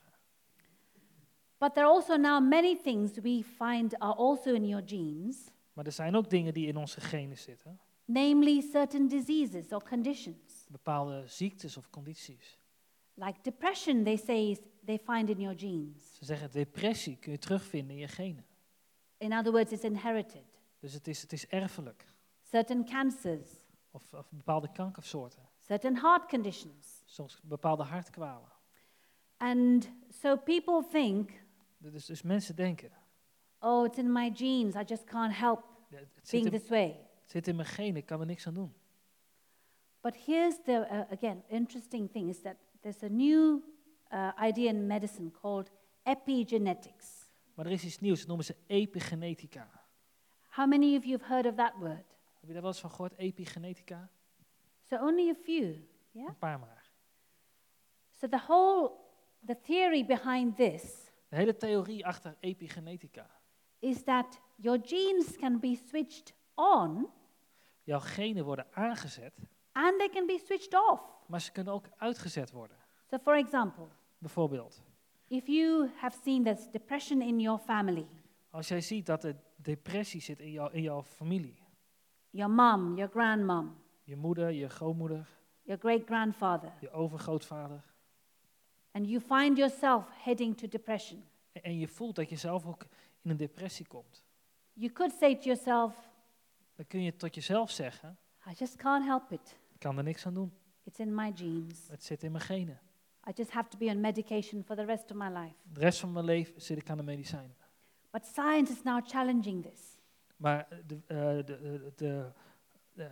Speaker 1: But there are also now many things we find are also in your genes,
Speaker 2: Maar er zijn ook dingen die in onze genen zitten.
Speaker 1: namely certain diseases or conditions.
Speaker 2: Bepaalde ziektes of condities.
Speaker 1: Like depression, they say is, they find in your genes.
Speaker 2: Ze zeggen depressie kun je terugvinden in je genen.
Speaker 1: In other words, it's inherited.
Speaker 2: Dus het is, het is erfelijk.
Speaker 1: Certain cancers,
Speaker 2: Of, of bepaalde kankersoorten.
Speaker 1: certain heart conditions.
Speaker 2: Soms bepaalde hartkwalen.
Speaker 1: And so people think,
Speaker 2: Dus, dus mensen denken,
Speaker 1: oh, it's in my genes, I just can't help
Speaker 2: ja, het, zit
Speaker 1: being
Speaker 2: in,
Speaker 1: this way.
Speaker 2: het zit in mijn genen, ik kan er niks aan doen.
Speaker 1: But here's the, uh, again, interesting thing is that there's a new uh, idea in medicine called epigenetics.
Speaker 2: Maar er is iets nieuws, dat noemen ze epigenetica.
Speaker 1: How many of you have heard of that word?
Speaker 2: Heb je daar wel eens van gehoord, epigenetica?
Speaker 1: So only a few, yeah?
Speaker 2: Een paar maar.
Speaker 1: So the whole, the theory behind this
Speaker 2: De hele theorie achter epigenetica.
Speaker 1: is that your genes can be switched on
Speaker 2: Jouw genen worden aangezet,
Speaker 1: and they can be switched off.
Speaker 2: maar ze kunnen ook uitgezet worden.
Speaker 1: So for example,
Speaker 2: Bijvoorbeeld,
Speaker 1: if you have seen there's depression in your family,
Speaker 2: als jij ziet dat er depressie zit in, jou, in jouw familie.
Speaker 1: your mom, your grandmom,
Speaker 2: Je moeder, je grootmoeder,
Speaker 1: your great-grandfather,
Speaker 2: je overgrootvader.
Speaker 1: and you find yourself heading to depression,
Speaker 2: En, en je voelt dat je zelf ook in een depressie komt.
Speaker 1: you could say to yourself,
Speaker 2: Dan kun je tot jezelf zeggen,
Speaker 1: I just can't help it.
Speaker 2: ik kan er niks aan doen.
Speaker 1: It's in my genes.
Speaker 2: Het zit in mijn genen.
Speaker 1: I just have to be on medication for the rest of my life.
Speaker 2: De rest van mijn leven zit ik aan de medicijnen.
Speaker 1: But science is now challenging this.
Speaker 2: Maar de, uh, de, de, de, de,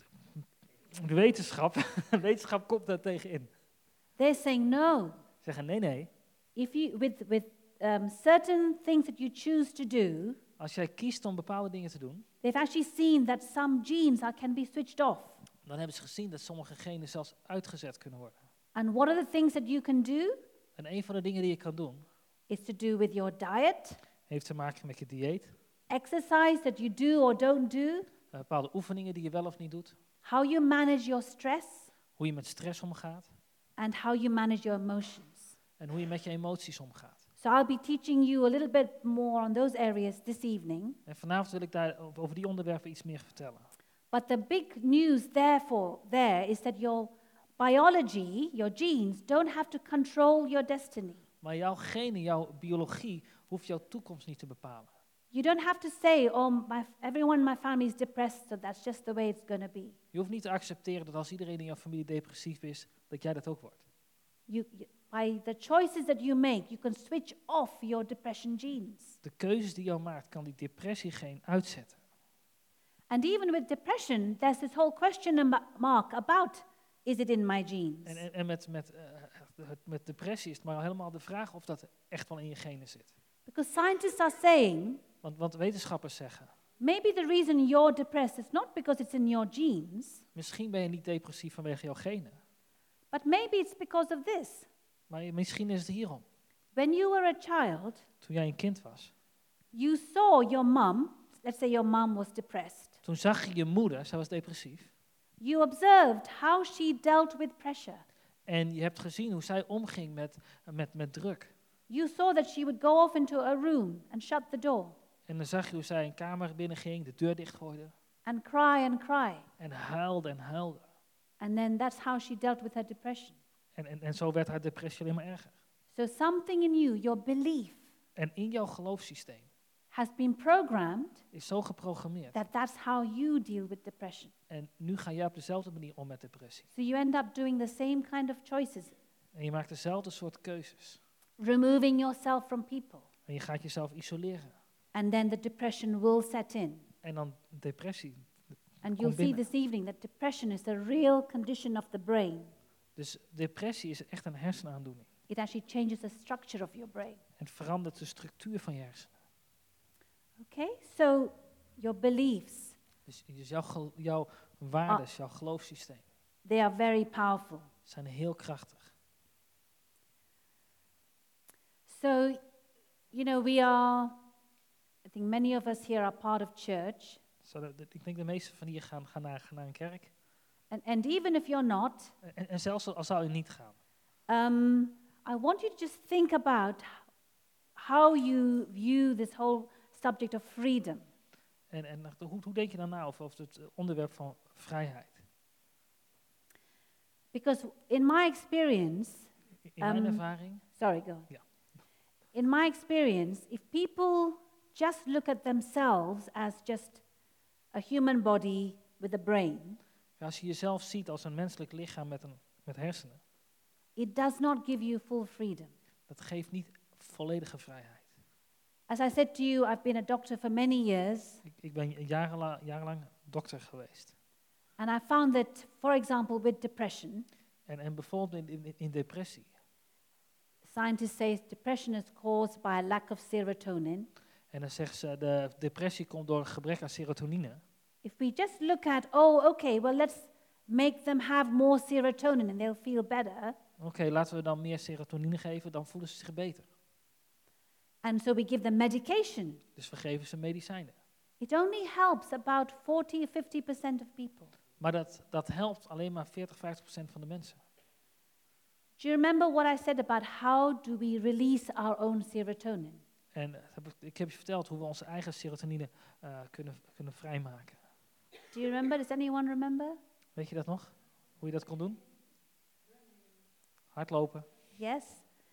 Speaker 2: de wetenschap, wetenschap komt daar tegenin.
Speaker 1: They're saying no.
Speaker 2: Ze zeggen nee, nee.
Speaker 1: If you with with um, certain things that you choose to do,
Speaker 2: Als jij kiest om bepaalde dingen te doen,
Speaker 1: they've actually seen that some genes are, can be switched off.
Speaker 2: dan hebben ze gezien dat sommige genen zelfs uitgezet kunnen worden.
Speaker 1: And what are the things that you can do?
Speaker 2: En een van de dingen die je kan doen,
Speaker 1: Is to do with your diet,
Speaker 2: heeft te maken met je dieet.
Speaker 1: exercise that you do or don't do,
Speaker 2: Uh, bepaalde oefeningen die je wel of niet doet.
Speaker 1: how you manage your stress,
Speaker 2: Hoe je met stress omgaat.
Speaker 1: and how you manage your emotions.
Speaker 2: En hoe je met je emoties omgaat.
Speaker 1: So I'll be teaching you a little bit more on those areas this evening.
Speaker 2: En vanavond wil ik daar over over die onderwerpen iets meer vertellen.
Speaker 1: But the big news therefore there is that your biology, your genes, don't have to control your destiny.
Speaker 2: Maar jouw genen, jouw biologie, hoeft jouw toekomst niet te bepalen.
Speaker 1: You don't have to say, oh, my, everyone in my family is depressed, so that's just the way it's going to be.
Speaker 2: Je hoeft niet te accepteren dat als iedereen in jouw familie depressief is, dat jij dat ook wordt.
Speaker 1: You, you, by the choices that you make, you can switch off your depression genes.
Speaker 2: De keuzes die jou maakt, kan die depressiegeen uitzetten.
Speaker 1: And even with depression, there's this whole question mark about, is it in my genes?
Speaker 2: En, en, en met, met, uh, met depressie is het maar helemaal de vraag of dat echt wel in je genen zit.
Speaker 1: Because scientists are saying,
Speaker 2: Want, want wetenschappers zeggen,
Speaker 1: maybe the reason you're depressed is not because it's in your genes,
Speaker 2: misschien ben je niet depressief vanwege jouw genen.
Speaker 1: but maybe it's because of this.
Speaker 2: Maar je- misschien is het hierom.
Speaker 1: When you were a child,
Speaker 2: Toen jij een kind was,
Speaker 1: you saw your mom, let's say your mom was depressed.
Speaker 2: toen zag je je moeder, zij was depressief.
Speaker 1: You observed how she dealt with pressure.
Speaker 2: En je hebt gezien hoe zij omging met, met, met druk.
Speaker 1: You saw that she would go off into a room and shut the door
Speaker 2: En dan zag je hoe zij een kamer binnenging, de deur dichtgooide.
Speaker 1: and cry and cry.
Speaker 2: En huilde en huilde.
Speaker 1: And then that's how she dealt with her depression.
Speaker 2: En, en, en zo werd haar depressie alleen maar erger.
Speaker 1: So something in you, your belief,
Speaker 2: En in jouw geloofssysteem
Speaker 1: has been programmed
Speaker 2: is zo geprogrammeerd.
Speaker 1: that that's how you deal with depression.
Speaker 2: En nu ga jij op dezelfde manier om met depressie.
Speaker 1: So you end up doing the same kind of choices,
Speaker 2: En je maakt dezelfde soort keuzes.
Speaker 1: removing yourself from people.
Speaker 2: En je gaat jezelf isoleren.
Speaker 1: And then the depression will set in.
Speaker 2: En dan depressie.
Speaker 1: And
Speaker 2: Kom
Speaker 1: you'll see
Speaker 2: binnen.
Speaker 1: this evening that depression is a real condition of the brain.
Speaker 2: Dus depressie is echt een hersenaandoening.
Speaker 1: It actually changes the structure of your brain.
Speaker 2: Het verandert de structuur van je hersenen.
Speaker 1: Okay? So your beliefs,
Speaker 2: Dus, dus jouw, gel- jouw waarden, jouw geloofssysteem
Speaker 1: they are very powerful.
Speaker 2: zijn heel krachtig.
Speaker 1: So, you know, we are, I think many of us here are part of church.
Speaker 2: Zo, de- de- ik denk de meeste van hier gaan, gaan, naar, gaan naar een kerk.
Speaker 1: And, and even if you're not,
Speaker 2: En, en zelfs al zou je niet gaan.
Speaker 1: um, I want you to just think about how you view this whole subject of freedom.
Speaker 2: En, en hoe, hoe denk je dan na over, over het onderwerp van vrijheid?
Speaker 1: Because in my experience,
Speaker 2: In mijn
Speaker 1: Um,
Speaker 2: ervaring,
Speaker 1: sorry, go on.
Speaker 2: Ja.
Speaker 1: In my experience, if people just look at themselves as just a human body with a brain,
Speaker 2: als je jezelf ziet als een menselijk lichaam met, een, met hersenen,
Speaker 1: it does not give you full freedom.
Speaker 2: dat geeft niet volledige vrijheid.
Speaker 1: As I said to you, I've been a doctor for many years,
Speaker 2: Ik, ik ben jarenla, jarenlang dokter geweest.
Speaker 1: and I found that, for example, with depression,
Speaker 2: En, en bijvoorbeeld in, in, in depressie.
Speaker 1: scientists say depression is caused by a lack of serotonin.
Speaker 2: En dan zeggen ze, de depressie komt door een gebrek aan serotonine.
Speaker 1: If we just look at, oh, okay, well, let's make them have more serotonin and they'll feel better.
Speaker 2: Oké, okay, laten we dan meer serotonine geven, dan voelen ze zich beter.
Speaker 1: And so we give them medication.
Speaker 2: Dus we geven ze medicijnen.
Speaker 1: It only helps about forty or fifty percent of people.
Speaker 2: Maar dat, dat helpt alleen maar veertig, vijftig procent van de mensen.
Speaker 1: Do you remember what I said about how do we release our own serotonin?
Speaker 2: En heb ik, ik heb je verteld hoe we onze eigen serotonine uh, kunnen, kunnen vrijmaken.
Speaker 1: Do you remember? Does anyone remember?
Speaker 2: Weet je dat nog? Hoe je dat kon doen? Hardlopen.
Speaker 1: Yes.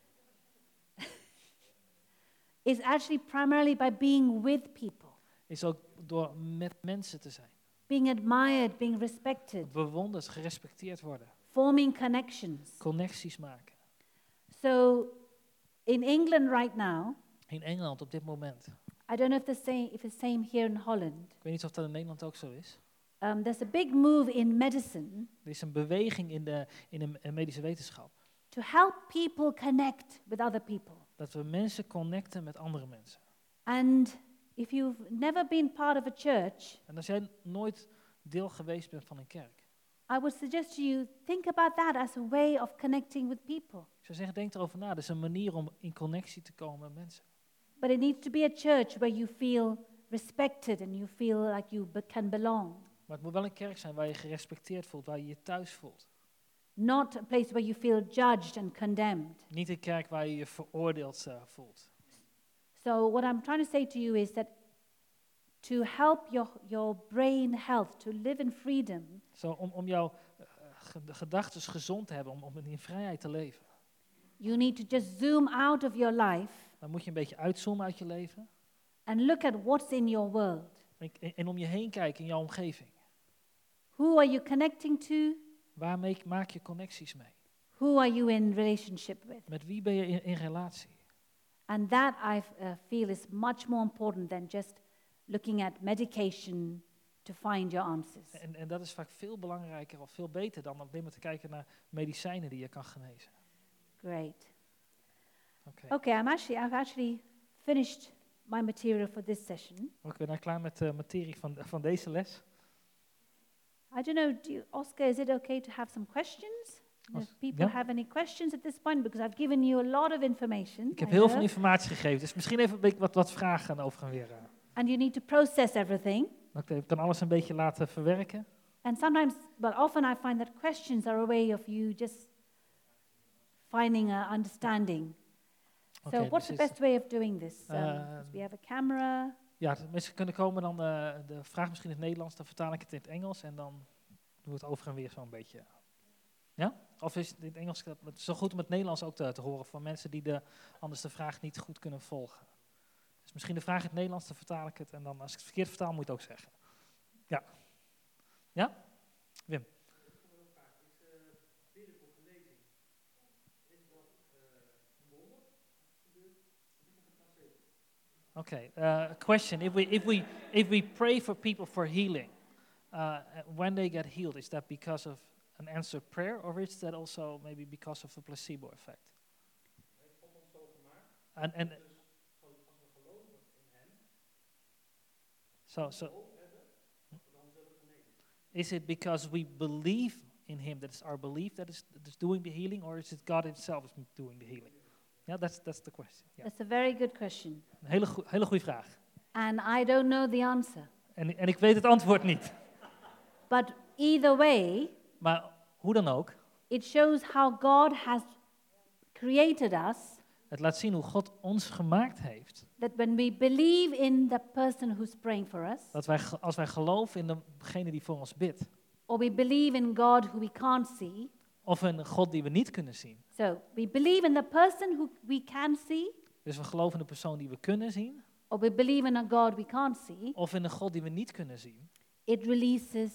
Speaker 1: It's actually primarily by being with people.
Speaker 2: Is ook door met mensen te zijn.
Speaker 1: Being admired, being respected.
Speaker 2: Bewonderd, gerespecteerd worden.
Speaker 1: Forming connections.
Speaker 2: Connecties maken.
Speaker 1: So, in England right now,
Speaker 2: In Engeland op dit moment.
Speaker 1: I don't know if the same if it's same here in Holland.
Speaker 2: Ik weet niet of dat in Nederland ook zo is.
Speaker 1: Um, there's a big move in medicine
Speaker 2: Er is een beweging in de, in de uh, medische wetenschap.
Speaker 1: to help people connect with other people.
Speaker 2: Dat we mensen connecten met andere mensen.
Speaker 1: And if you've never been part of a church,
Speaker 2: En als jij nooit deel geweest bent van een kerk.
Speaker 1: I would suggest to you, think about that as a way of connecting with people.
Speaker 2: Ik zou zeggen, denk erover na. Dat is een manier om in connectie te komen met mensen.
Speaker 1: But it needs to be a church where you feel respected and you feel like you be- can belong.
Speaker 2: Maar het moet wel een kerk zijn waar je gerespecteerd voelt, waar je je thuis voelt.
Speaker 1: Not a place where you feel judged and condemned.
Speaker 2: Niet een kerk waar je je veroordeeld uh, voelt.
Speaker 1: So what I'm trying to say to you is that to help your, your brain health, to live in freedom,
Speaker 2: Zo, om, om jouw uh, ge- gedachten gezond te hebben, om, om in vrijheid te leven.
Speaker 1: you need to just zoom out of your life
Speaker 2: Dan moet je een beetje uitzoomen uit je leven.
Speaker 1: and look at what's in your world.
Speaker 2: En, en, en om je heen kijken in jouw omgeving.
Speaker 1: Who are you connecting to?
Speaker 2: Waarmee maak je connecties mee?
Speaker 1: Who are you in relationship with?
Speaker 2: Met wie ben je in, in relatie?
Speaker 1: And that I uh, feel is much more important than just looking at medication to find your answers.
Speaker 2: En, en dat is vaak veel belangrijker of veel beter dan alleen maar te kijken naar medicijnen die je kan genezen.
Speaker 1: Great.
Speaker 2: Oké,
Speaker 1: Okay, I'm actually I've actually finished my material for this session.
Speaker 2: ik ben nou klaar met de materie van, van deze les.
Speaker 1: I don't know, do you, Oscar, is it okay to have some questions?
Speaker 2: Os-
Speaker 1: If people
Speaker 2: ja.
Speaker 1: have any questions at this point, because I've given you a lot of information.
Speaker 2: Ik heb
Speaker 1: I
Speaker 2: heel
Speaker 1: know,
Speaker 2: veel informatie gegeven, dus misschien even een beetje wat, wat vragen over en weer. uh.
Speaker 1: and you need to process everything.
Speaker 2: Ik kan alles een beetje laten verwerken.
Speaker 1: And sometimes, well, often I find that questions are a way of you just finding a understanding. So
Speaker 2: Oké,
Speaker 1: what's
Speaker 2: dus
Speaker 1: the
Speaker 2: is-
Speaker 1: best way of doing this? Um,
Speaker 2: Uh,
Speaker 1: 'cause we have a camera.
Speaker 2: Ja, de mensen kunnen komen dan uh, de vraag misschien in het Nederlands, dan vertaal ik het in het Engels en dan doen we het over en weer zo'n beetje. Ja? Of is het in het Engels, dat- het is zo goed om het Nederlands ook te, te horen voor mensen die de, anders de vraag niet goed kunnen volgen. Dus misschien de vraag in het Nederlands, dan vertaal ik het en dan als ik het verkeerd vertaal moet je het ook zeggen. Ja? Ja? Wim? Okay. Uh, question: If we if we if we pray for people for healing, uh, when they get healed, is that because of an answered prayer, or is that also maybe because of a placebo effect? And and So, so, is it because we believe in him, that is our belief that is, that is doing the healing, or is it God himself is doing the healing? Yeah, that's, that's the question. Yeah.
Speaker 1: That's a very good question.
Speaker 2: Een hele, goe- hele goede vraag.
Speaker 1: And I don't know the answer.
Speaker 2: En, en ik weet het antwoord niet.
Speaker 1: But either way,
Speaker 2: Maar hoe dan ook,
Speaker 1: it shows how God has created us,
Speaker 2: het laat zien hoe God ons gemaakt heeft.
Speaker 1: that when we believe in the person who's praying for us,
Speaker 2: Dat wij, ge- als wij geloven in degene die voor ons bidt,
Speaker 1: or we believe in God who we can't see,
Speaker 2: of in een God die we niet kunnen zien.
Speaker 1: so we believe in the person who we can see,
Speaker 2: Dus we geloven in de persoon die we kunnen zien,
Speaker 1: or we believe in a God we can't see,
Speaker 2: of in een God die we niet kunnen zien.
Speaker 1: it releases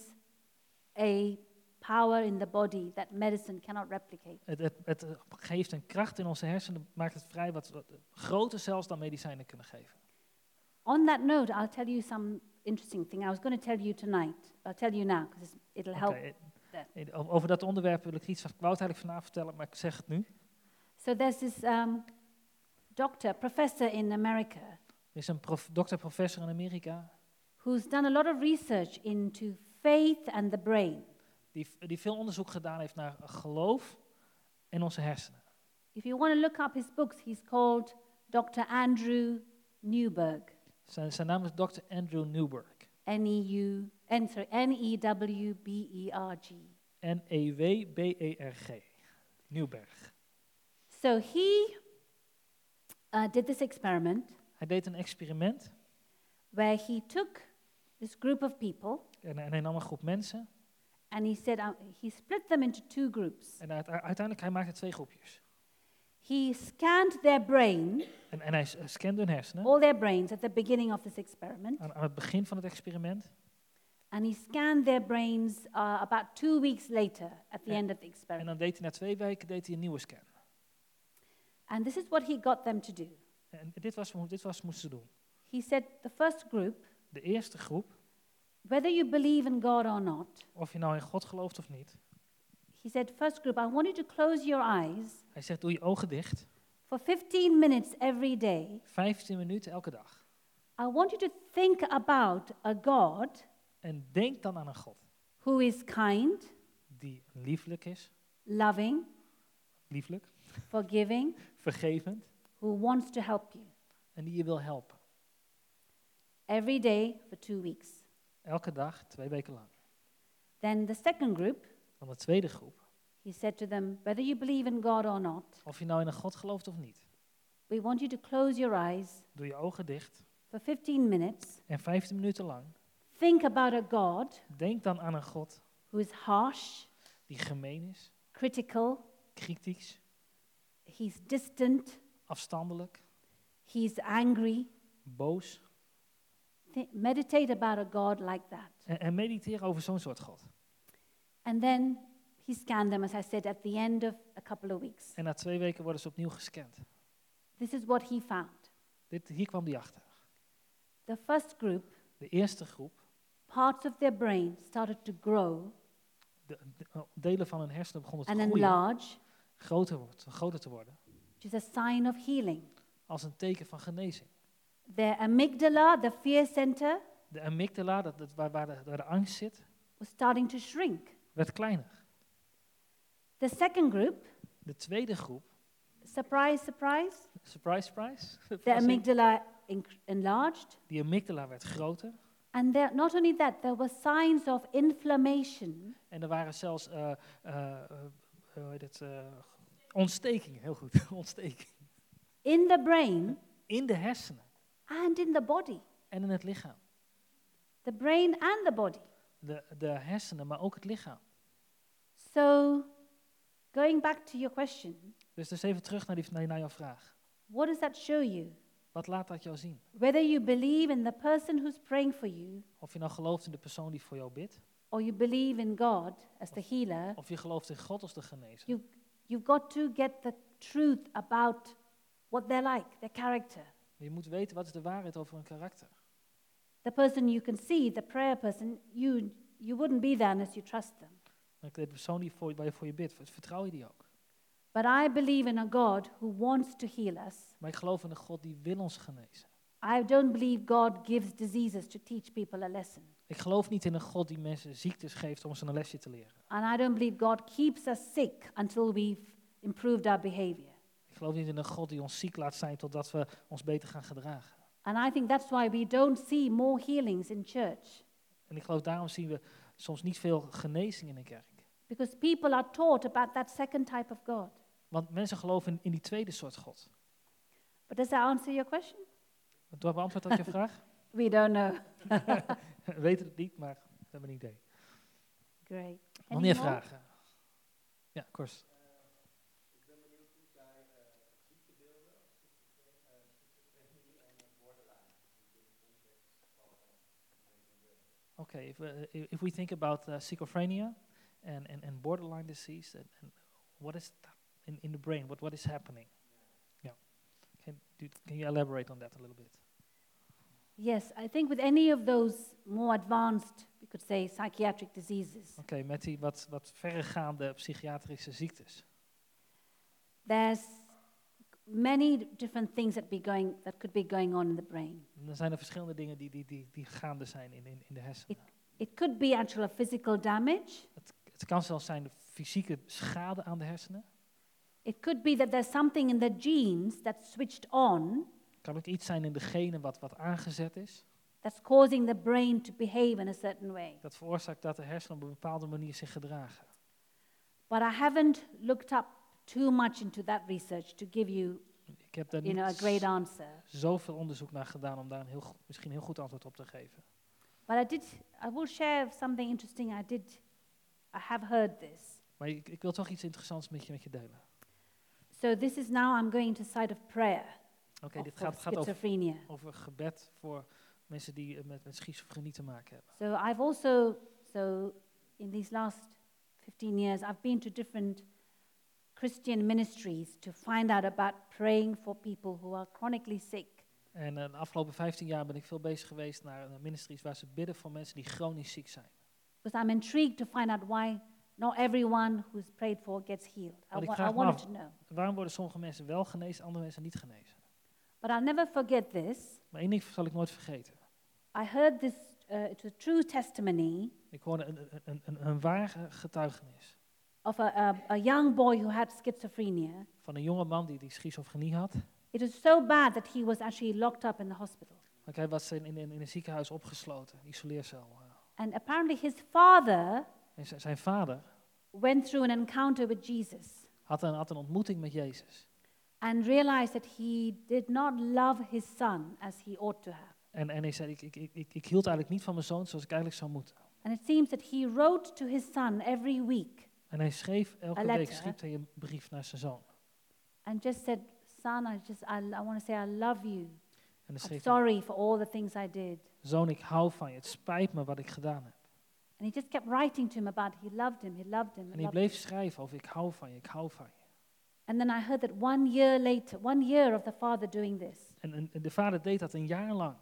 Speaker 1: a power in the body that medicine cannot replicate.
Speaker 2: Het, het, het geeft een kracht in onze hersenen, maakt het vrij wat, wat groter zelfs dan medicijnen kunnen geven.
Speaker 1: On that note, I'll tell you some interesting thing. I was going to tell you tonight. I'll tell you now because it'll help.
Speaker 2: Oké, eh, o- over dat onderwerp wil ik iets, ik wou het eigenlijk vanavond vertellen, maar ik zeg het nu.
Speaker 1: So there's this um, doctor, professor in America,
Speaker 2: Er is een prof, dokter-professor in Amerika
Speaker 1: who's done a lot of research into faith and the brain.
Speaker 2: die, die veel onderzoek gedaan heeft naar geloof en onze hersenen.
Speaker 1: If you want to look up his books, he's called doctor Andrew Newberg.
Speaker 2: Zijn, zijn naam is dokter Andrew Newberg.
Speaker 1: N E U, N, sorry, N E W B E R G.
Speaker 2: N E W B E R G. Newberg.
Speaker 1: So he uh, did this experiment
Speaker 2: Hij deed een experiment
Speaker 1: where he took this group of people
Speaker 2: en, en hij nam een groep mensen.
Speaker 1: and he said uh, he split them into two groups.
Speaker 2: En uit- uiteindelijk hij maakte twee groepjes.
Speaker 1: He scanned their brain,
Speaker 2: En, en hij s- scande hun hersenen
Speaker 1: all their brains at the beginning of this experiment,
Speaker 2: aan, aan het begin van het experiment.
Speaker 1: and he scanned their brains uh, about two weeks later at the
Speaker 2: En-
Speaker 1: end of the
Speaker 2: En
Speaker 1: experiment.
Speaker 2: dan deed hij na twee weken deed hij een nieuwe scan.
Speaker 1: And this is what he got them to do.
Speaker 2: En dit was, hoe- dit was moesten ze doen.
Speaker 1: He said the first group,
Speaker 2: De eerste groep,
Speaker 1: whether you believe in God or not,
Speaker 2: of je nou in God gelooft of niet.
Speaker 1: he said, first group, I want you to close your eyes
Speaker 2: Hij zegt, doe je ogen dicht.
Speaker 1: for fifteen minutes every day.
Speaker 2: vijftien minuten elke dag.
Speaker 1: I want you to think about a God
Speaker 2: En denk dan aan een God
Speaker 1: who is kind,
Speaker 2: die lieflijk is,
Speaker 1: loving,
Speaker 2: lieflijk,
Speaker 1: forgiving,
Speaker 2: vergevend
Speaker 1: who wants to help you.
Speaker 2: en die je wil helpen.
Speaker 1: Every day for two weeks.
Speaker 2: Elke dag, twee weken lang.
Speaker 1: Then the second group,
Speaker 2: Dan de tweede groep,
Speaker 1: he said to them, whether you believe in God or not,
Speaker 2: of je nou in een God gelooft of niet.
Speaker 1: we want you to close your eyes
Speaker 2: Doe je ogen dicht
Speaker 1: for fifteen minutes.
Speaker 2: en vijftien minuten lang.
Speaker 1: Think about a God
Speaker 2: Denk dan aan een God
Speaker 1: who is harsh,
Speaker 2: die gemeen is,
Speaker 1: critical,
Speaker 2: kritisch,
Speaker 1: he's distant,
Speaker 2: afstandelijk,
Speaker 1: he's angry.
Speaker 2: boos.
Speaker 1: Th- meditate about a God like that.
Speaker 2: En, en mediteer over zo'n soort God.
Speaker 1: And then he scanned them, as I said, at the end of a couple of weeks.
Speaker 2: En na twee weken worden ze opnieuw gescand.
Speaker 1: This is what he found.
Speaker 2: Dit, hier kwam die achter.
Speaker 1: The first group,
Speaker 2: De eerste groep,
Speaker 1: parts of their brain started to grow
Speaker 2: de, de- uh, delen van hun hersenen begonnen te
Speaker 1: and
Speaker 2: groeien,
Speaker 1: enlarge,
Speaker 2: groter, wordt, groter te worden,
Speaker 1: which is a sign of healing.
Speaker 2: als een teken van genezing.
Speaker 1: Their amygdala, the fear center,
Speaker 2: De amygdala, dat, dat, waar, waar, de, waar de angst zit,
Speaker 1: was starting to shrink.
Speaker 2: werd kleiner.
Speaker 1: The second group,
Speaker 2: De tweede groep,
Speaker 1: surprise, surprise,
Speaker 2: surprise, surprise,
Speaker 1: the
Speaker 2: verrassing,
Speaker 1: amygdala inc- enlarged.
Speaker 2: die amygdala werd groter.
Speaker 1: And there, not only that, there were signs of inflammation
Speaker 2: En er waren zelfs uh, uh, uh, hoe heet het, uh, ontstekingen, heel goed, ontstekingen.
Speaker 1: in the brain
Speaker 2: In de hersenen
Speaker 1: and in the body.
Speaker 2: en in het lichaam.
Speaker 1: The brain and the body.
Speaker 2: De, de hersenen, maar ook het lichaam.
Speaker 1: So, going back to your question,
Speaker 2: Dus dus even terug naar, die, naar, naar jouw vraag.
Speaker 1: what does that show you?
Speaker 2: Wat laat dat jou zien?
Speaker 1: Whether you believe in the person who's praying for you,
Speaker 2: Of je nou gelooft in de persoon die voor jou bidt,
Speaker 1: or you believe in God as the healer,
Speaker 2: of je gelooft in God als de genezer.
Speaker 1: you, you've got to get the truth about what they're like, their character.
Speaker 2: Je moet weten wat is de waarheid over hun karakter.
Speaker 1: The person you can see, the prayer person, you, you wouldn't be there unless you trust them.
Speaker 2: De persoon die voor, waar je voor je bidt, vertrouw je die ook.
Speaker 1: But I believe in a God who wants to heal us.
Speaker 2: Maar ik geloof in een God die wil ons genezen.
Speaker 1: I don't believe God gives diseases to teach people a lesson.
Speaker 2: Ik geloof niet in een God die mensen ziektes geeft om ze een lesje te leren.
Speaker 1: And I don't believe God keeps us sick until we've improved our behavior.
Speaker 2: Ik geloof niet in een God die ons ziek laat zijn totdat we ons beter gaan gedragen.
Speaker 1: And I think that's why we don't see more healings in church.
Speaker 2: En ik geloof daarom zien we soms niet veel genezing in de kerk.
Speaker 1: Because people are taught about that second type of God.
Speaker 2: Want mensen geloven in, in die tweede soort God.
Speaker 1: But does that answer your question?
Speaker 2: Door beantwoord op je vraag?
Speaker 1: We don't know.
Speaker 2: We weten het niet, maar we hebben een idee.
Speaker 1: Great.
Speaker 2: Nog
Speaker 1: Any
Speaker 2: meer
Speaker 1: more?
Speaker 2: vragen? Ja, Kors.
Speaker 3: Ik ben benieuwd hoe zij uh, ziektebeelden, schizofrenie en borderline in de context van
Speaker 2: Okay, if, uh, if we think about uh, schizophrenia and, and, and borderline disease, and, and what is that in, in the brain? What what is happening? Yeah. Can, do, can you elaborate on that a little bit?
Speaker 1: Yes, I think with any of those more advanced, we could say, psychiatric diseases,
Speaker 2: Oké, okay, met die wat, wat verregaande psychiatrische ziektes.
Speaker 1: there's many different things that be going that could be going on in the brain.
Speaker 2: Er zijn er verschillende dingen die, die, die, die gaande zijn in, in, in de hersenen.
Speaker 1: It could be actual physical damage.
Speaker 2: Het, het kan zelfs zijn de fysieke schade aan de hersenen.
Speaker 1: It could be that there's something in the genes that's switched on
Speaker 2: Het kan ook iets zijn in de genen wat, wat aangezet is.
Speaker 1: that's causing the brain to behave in a certain way.
Speaker 2: Dat veroorzaakt dat de hersenen op een bepaalde manier zich gedragen.
Speaker 1: But I haven't looked up too much into that research to give you,
Speaker 2: Ik heb daar
Speaker 1: you know, a
Speaker 2: niet
Speaker 1: great answer.
Speaker 2: zoveel onderzoek naar gedaan om daar een heel, go- misschien een heel goed antwoord op te geven.
Speaker 1: But I did, I will share something interesting. I did, I have heard this.
Speaker 2: Maar ik, ik wil toch iets interessants met je, met je delen.
Speaker 1: So this is now I'm going to side of prayer
Speaker 2: Oké,
Speaker 1: of-
Speaker 2: dit
Speaker 1: for
Speaker 2: gaat, gaat over,
Speaker 1: schizophrenia.
Speaker 2: over gebed voor mensen die eh, met, met schizofrenie te maken hebben.
Speaker 1: So I've also, so in these last fifteen years, I've been to different Christian ministries to find out about praying for people who are chronically sick.
Speaker 2: En eh, de afgelopen vijftien jaar ben ik veel bezig geweest naar eh, ministries waar ze bidden voor mensen die chronisch ziek zijn.
Speaker 1: Because I'm intrigued to find out why not everyone who's prayed for gets healed. I,
Speaker 2: Want ik
Speaker 1: wa-
Speaker 2: vraag
Speaker 1: I
Speaker 2: me
Speaker 1: wanted
Speaker 2: af-
Speaker 1: to know.
Speaker 2: Waarom worden sommige mensen wel genezen, andere mensen niet genezen?
Speaker 1: But I'll never forget this.
Speaker 2: Maar één ding zal ik nooit vergeten.
Speaker 1: I heard this, uh, it's a true testimony
Speaker 2: Ik hoorde een, een, een, een, een ware getuigenis
Speaker 1: of a, a, a young boy who had schizophrenia.
Speaker 2: van een jonge man die, die schizofrenie had.
Speaker 1: It was so bad that he was actually locked up in the hospital.
Speaker 2: Maar hij was in, in, in een ziekenhuis opgesloten, isoleercel. eh.
Speaker 1: And apparently his father
Speaker 2: En z- zijn vader
Speaker 1: went through an encounter with Jesus
Speaker 2: had een, had een ontmoeting met Jezus.
Speaker 1: and realized that he did not love his son as he ought to have.
Speaker 2: En, en hij zei, ik, ik, ik, ik, ik hield eigenlijk niet van mijn zoon zoals ik eigenlijk zou moeten.
Speaker 1: And it seems that he wrote to his son every week
Speaker 2: En hij schreef, elke
Speaker 1: A
Speaker 2: week
Speaker 1: letter.
Speaker 2: schreef hij een brief naar zijn zoon.
Speaker 1: and just said, son, I just, I, I want to say I love you.
Speaker 2: En dan
Speaker 1: I'm
Speaker 2: schreef hij,
Speaker 1: sorry for all the things I did.
Speaker 2: zoon, ik hou van je, het spijt me wat ik gedaan heb.
Speaker 1: And he just kept writing to him about he loved him, he loved him. he
Speaker 2: En hij
Speaker 1: loved
Speaker 2: bleef
Speaker 1: him.
Speaker 2: schrijven over, ik hou van je, ik hou van je.
Speaker 1: And then I heard that one year later, one year of the father doing this,
Speaker 2: En, en, en de vader deed dat een jaar lang.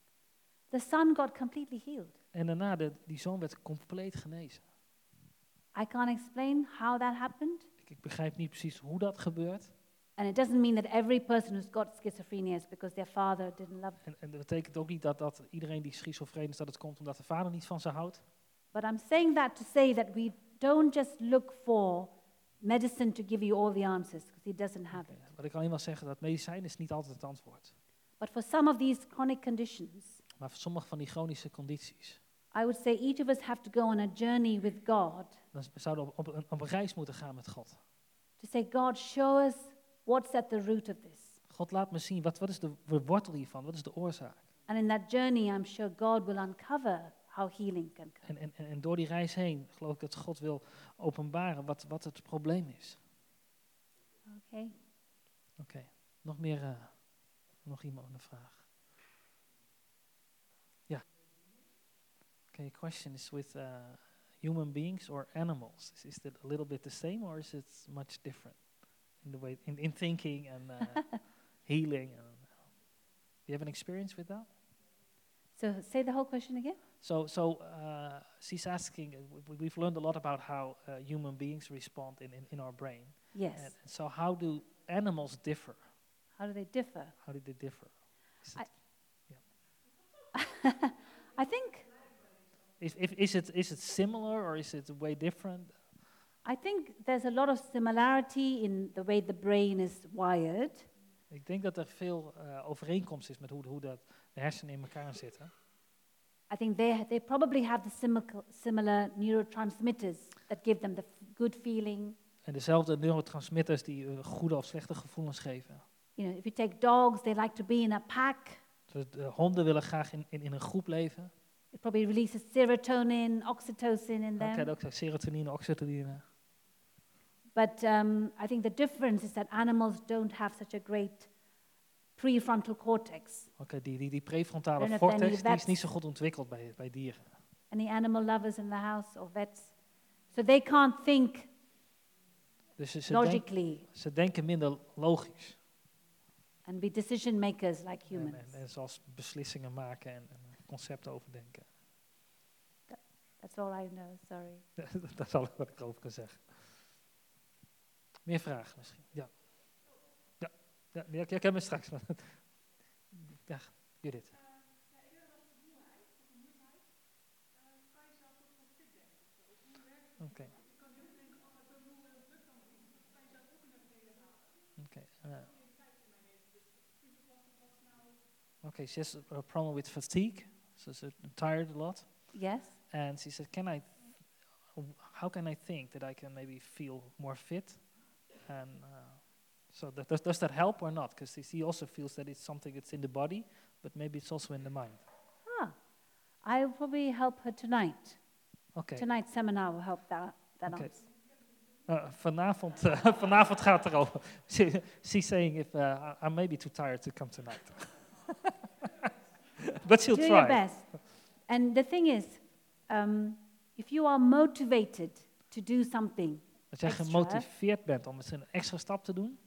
Speaker 1: the son got completely healed.
Speaker 2: En daarna, de, die zoon werd compleet genezen.
Speaker 1: I can't explain how that happened.
Speaker 2: Ik, ik begrijp niet precies hoe dat gebeurt.
Speaker 1: And it doesn't mean that every person who's got schizophrenia is because their father didn't love them.
Speaker 2: En, en dat betekent ook niet dat, dat iedereen die schizofreen is, dat het komt omdat de vader niet van ze houdt.
Speaker 1: But I'm saying that to say that we don't just look for medicine to give you all the answers, because he doesn't have it.
Speaker 2: Wat ik alleen maar zeggen, dat medicijn is niet altijd het antwoord.
Speaker 1: But for some of these chronic conditions,
Speaker 2: Maar voor sommige van die chronische condities,
Speaker 1: I would say each of us have to go on a journey with God
Speaker 2: dan zouden we op, op, een, op een reis moeten gaan met God.
Speaker 1: to say, God, show us what's at the root of this.
Speaker 2: God laat me zien, wat, wat is de wortel hiervan, wat is de oorzaak?
Speaker 1: And in that journey, I'm sure God will uncover how healing can come.
Speaker 2: En, en, en door die reis heen geloof ik dat God wil openbaren wat, wat het probleem is.
Speaker 1: Okay.
Speaker 2: Oké, okay. nog meer, uh, nog iemand een vraag? Ja. Yeah. Okay, question is with uh, human beings or animals. Is, is that a little bit the same or is it much different in the way in, in thinking and uh, healing? And, uh, do you have an experience with that?
Speaker 1: So say the whole question again.
Speaker 2: So, so uh, she's asking. Uh, we- we've learned a lot about how uh, human beings respond in, in, in our brain.
Speaker 1: Yes.
Speaker 2: And, and so, how do animals differ?
Speaker 1: How do they differ?
Speaker 2: How do they differ? Is
Speaker 1: I-
Speaker 2: it-
Speaker 1: I think
Speaker 2: Is, if, is, it, is it similar or is it way different?
Speaker 1: I think there's a lot of similarity in the way the brain is wired.
Speaker 2: Ik denk dat er veel uh, overeenkomst is met hoe, hoe dat de hersenen in elkaar zitten.
Speaker 1: I think they they probably have the similar similar neurotransmitters that give them the f- good feeling.
Speaker 2: En dezelfde neurotransmitters die uh, goede of slechte gevoelens geven.
Speaker 1: You know, if you take dogs, they like to be in a pack.
Speaker 2: Dus de honden willen graag in, in, in een groep leven.
Speaker 1: It probably releases serotonin, oxytocin in
Speaker 2: Oké,
Speaker 1: them.
Speaker 2: ook zo serotonine, oxytocine.
Speaker 1: But um, I think the difference is that animals don't have such a great prefrontal cortex.
Speaker 2: Oké, okay, die, die, die prefrontale
Speaker 1: Don't have any
Speaker 2: cortex die is
Speaker 1: vets.
Speaker 2: niet zo goed ontwikkeld bij, bij dieren.
Speaker 1: Any animal lovers in the house or vets? So they can't think
Speaker 2: Dus ze, ze, denk,
Speaker 1: logically
Speaker 2: ze denken minder logisch.
Speaker 1: and be decision makers like
Speaker 2: En,
Speaker 1: humans.
Speaker 2: en, en zoals beslissingen maken en, en concepten overdenken.
Speaker 1: That's all I know, sorry.
Speaker 2: Dat is alles wat ik erover kan zeggen. Meer vragen misschien? Ja. Ja, ja, ja ik heb me straks. Ja, Judith. Oké. Okay. Oké. Okay, uh, okay, she has a problem with fatigue. So she's tired a lot.
Speaker 1: Yes?
Speaker 2: And she said, "Can I? How can I think that I can maybe feel more fit?" And uh, so that, does, does that help or not? Because she also feels that it's something that's in the body, but maybe it's also in the mind.
Speaker 1: Ah, I'll probably help her tonight.
Speaker 2: Okay.
Speaker 1: Tonight's seminar will help that, that
Speaker 2: Okay.
Speaker 1: answer.
Speaker 2: Uh, vanavond, uh, vanavond gaat het erover. She, she's saying if uh, I, I may be too tired to come tonight. But she'll
Speaker 1: Do
Speaker 2: try.
Speaker 1: your best. And the thing is, um, if you are motivated to do something,
Speaker 2: Als jij
Speaker 1: extra.
Speaker 2: gemotiveerd bent om eens een extra stap te doen.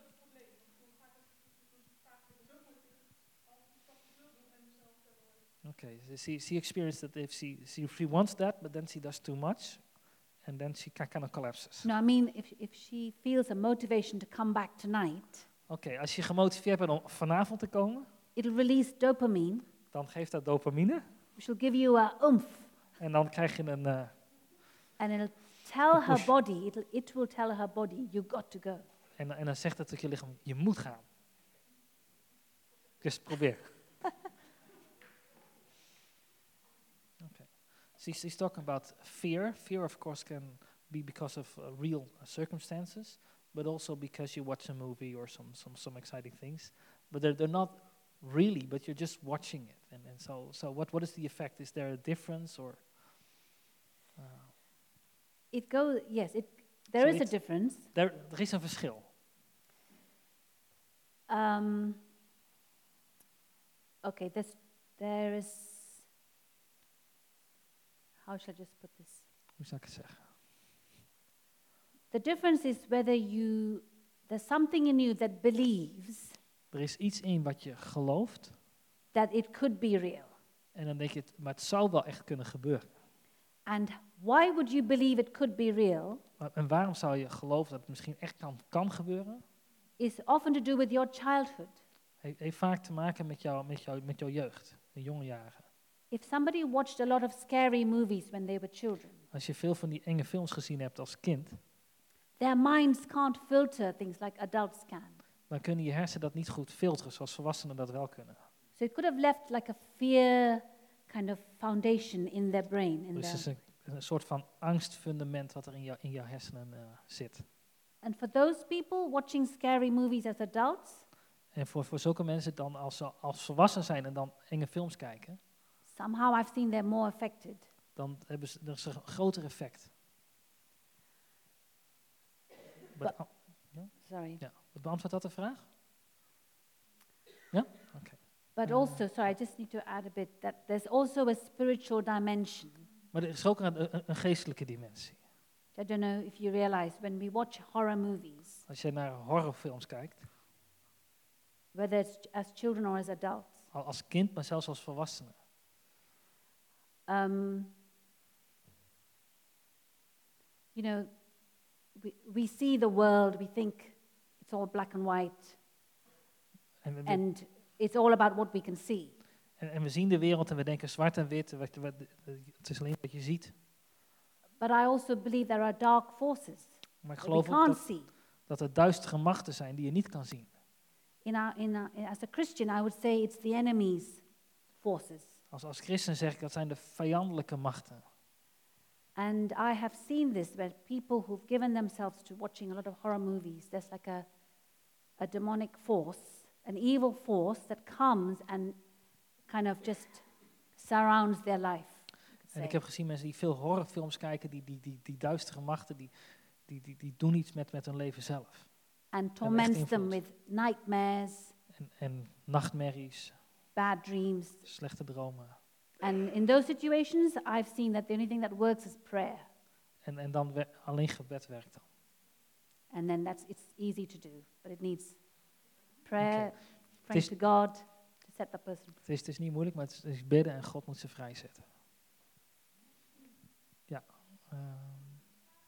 Speaker 2: Okay, so she, she experienced that if she, she, she wants that, but then she does too much, and then she kind of collapses.
Speaker 1: no, I mean, if, if she feels a motivation to come back tonight,
Speaker 2: Oké, okay, als je gemotiveerd bent om vanavond te komen,
Speaker 1: it'll release dopamine,
Speaker 2: dan geeft dat dopamine.
Speaker 1: which will give you a oomph,
Speaker 2: En dan krijg je een... Uh,
Speaker 1: and it'll tell her body, it'll, it will tell her body, you got to go.
Speaker 2: en, en dan zegt het tegen je lichaam, je moet gaan. Dus probeer. Okay. She's, she's talking about fear. Fear, of course, can be because of uh, real uh, circumstances, but also because you watch a movie or some some, some exciting things. But they're, they're not really, but you're just watching it. And, and so, so what, what is the effect? Is there a difference or... Uh,
Speaker 1: It goes, yes, it, there
Speaker 2: So
Speaker 1: is a
Speaker 2: it's-
Speaker 1: difference.
Speaker 2: er, er is een verschil.
Speaker 1: Um, okay, there's, there is, how shall I just put this?
Speaker 2: Hoe zou ik het zeggen?
Speaker 1: The difference is whether you, there's something in you that believes
Speaker 2: Er is iets in wat je gelooft
Speaker 1: that it could be real.
Speaker 2: en dan denk je, het, maar het zou wel echt kunnen gebeuren.
Speaker 1: And why would you believe it could be real
Speaker 2: Maar, en waarom zou je geloven dat het misschien echt kan, kan gebeuren?
Speaker 1: is often to do with your childhood.
Speaker 2: He, heeft vaak te maken met, jou, met, jou, met jouw jeugd, de jonge jaren.
Speaker 1: If somebody watched a lot of scary movies when they were children,
Speaker 2: Als je veel van die enge films gezien hebt als kind,
Speaker 1: their minds can't filter things like adults can.
Speaker 2: dan kunnen je hersenen dat niet goed filteren zoals volwassenen dat wel kunnen.
Speaker 1: So it could have left like a fear kind of foundation in their brain. In
Speaker 2: Dus het is
Speaker 1: their,
Speaker 2: een, een soort van angstfundament wat er in, jou, in jouw hersenen uh, zit.
Speaker 1: and for those people watching scary movies as adults,
Speaker 2: En voor, voor zulke mensen dan als ze als volwassen zijn en dan enge films kijken,
Speaker 1: somehow I've seen they're more affected.
Speaker 2: dan hebben ze, er is een groter effect. But, oh,
Speaker 1: Sorry.
Speaker 2: ja, beantwoordt dat de vraag? Ja? Oké.
Speaker 1: But
Speaker 2: Uh,
Speaker 1: also, sorry, I just need to add a bit that there's also a spiritual dimension.
Speaker 2: Maar er is ook een, een, een geestelijke dimensie.
Speaker 1: I don't know if you realize when we watch horror movies,
Speaker 2: Als je naar horrorfilms kijkt,
Speaker 1: whether it's as children or as adults,
Speaker 2: al als kind, maar zelfs als volwassene,
Speaker 1: um, you know, we, we see the world, we think it's all black and white,
Speaker 2: en we,
Speaker 1: and it's all about what we can see.
Speaker 2: En, en we zien de wereld en we denken zwart en wit, wat, wat, het is alleen wat je ziet.
Speaker 1: But I also believe there are dark forces
Speaker 2: Maar ik
Speaker 1: that we
Speaker 2: geloof ook
Speaker 1: can't
Speaker 2: dat,
Speaker 1: see.
Speaker 2: dat er duistere machten zijn die je niet kan zien.
Speaker 1: In our, in our, as a Christian, I would say it's the enemy's forces.
Speaker 2: Als, als christen zeg ik, dat zijn de vijandelijke machten.
Speaker 1: And I have seen this where people who've given themselves to watching a lot of horror movies, there's like a, a demonic force, an evil force that comes and kind of just surrounds their life. you could
Speaker 2: En ik
Speaker 1: say.
Speaker 2: heb gezien mensen die veel horrorfilms kijken, die, die, die, die duistere machten, die, die, die, die doen iets met, met hun leven zelf.
Speaker 1: And torments them
Speaker 2: invloed.
Speaker 1: with nightmares,
Speaker 2: En, en nachtmerries,
Speaker 1: bad dreams.
Speaker 2: slechte dromen.
Speaker 1: And in those situations, I've seen that the only thing that works is prayer.
Speaker 2: En, en dan we, alleen gebed werkt dan.
Speaker 1: And then that's it's easy to do, but it needs prayer,
Speaker 2: Okay.
Speaker 1: praying
Speaker 2: This-
Speaker 1: to God to set that person free.
Speaker 2: Het is, het is niet moeilijk, maar het is, het is bidden en God moet ze vrijzetten. Ja. Um,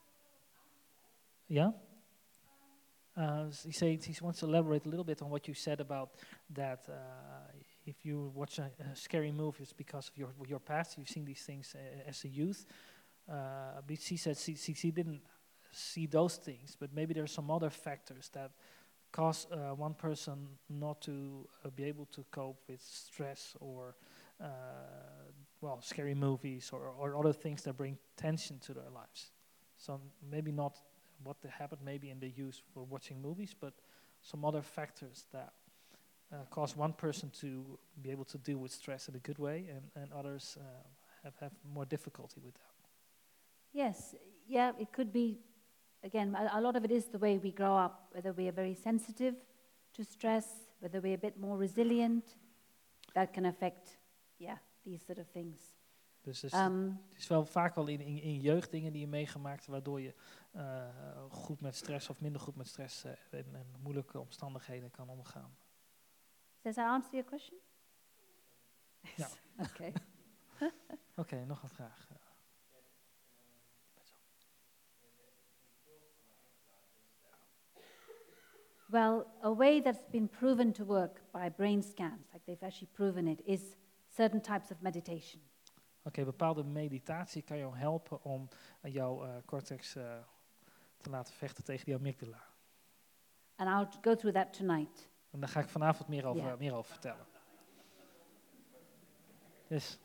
Speaker 2: ja? Uh, he, says, he wants to elaborate a little bit on what you said about that uh, if you watch a, a scary movie, it's because of your your past. You've seen these things uh, as a youth. Uh, but she said she, she, she didn't see those things, but maybe there are some other factors that cause uh, one person not to uh, be able to cope with stress or, uh, well, scary movies or, or other things that bring tension to their lives. So maybe not what happened maybe in the youth for watching movies, but some other factors that uh, cause one person to be able to deal with stress in a good way, and, and others uh, have, have more difficulty with that.
Speaker 1: Yes, yeah, it could be, again, a, a lot of it is the way we grow up, whether we are very sensitive to stress, whether we're a bit more resilient, that can affect, yeah, these sort of things.
Speaker 2: Dus, dus
Speaker 1: Um,
Speaker 2: het is wel vaak wel in, in, in jeugd dingen die je meegemaakt, waardoor je uh, goed met stress of minder goed met stress uh, en, en moeilijke omstandigheden kan omgaan.
Speaker 1: does that answer your question?
Speaker 2: Ja.
Speaker 1: Okay.
Speaker 2: Oké, okay, nog een vraag.
Speaker 1: Well, a way that's been proven to work by brain scans, like they've actually proven it, is certain types of meditation.
Speaker 2: Oké, okay, bepaalde meditatie kan jou helpen om uh, jouw uh, cortex uh, te laten vechten tegen die amygdala.
Speaker 1: And I'll go through that tonight.
Speaker 2: En daar ga ik vanavond meer over,
Speaker 1: Ja.
Speaker 2: uh, meer over vertellen. Dus,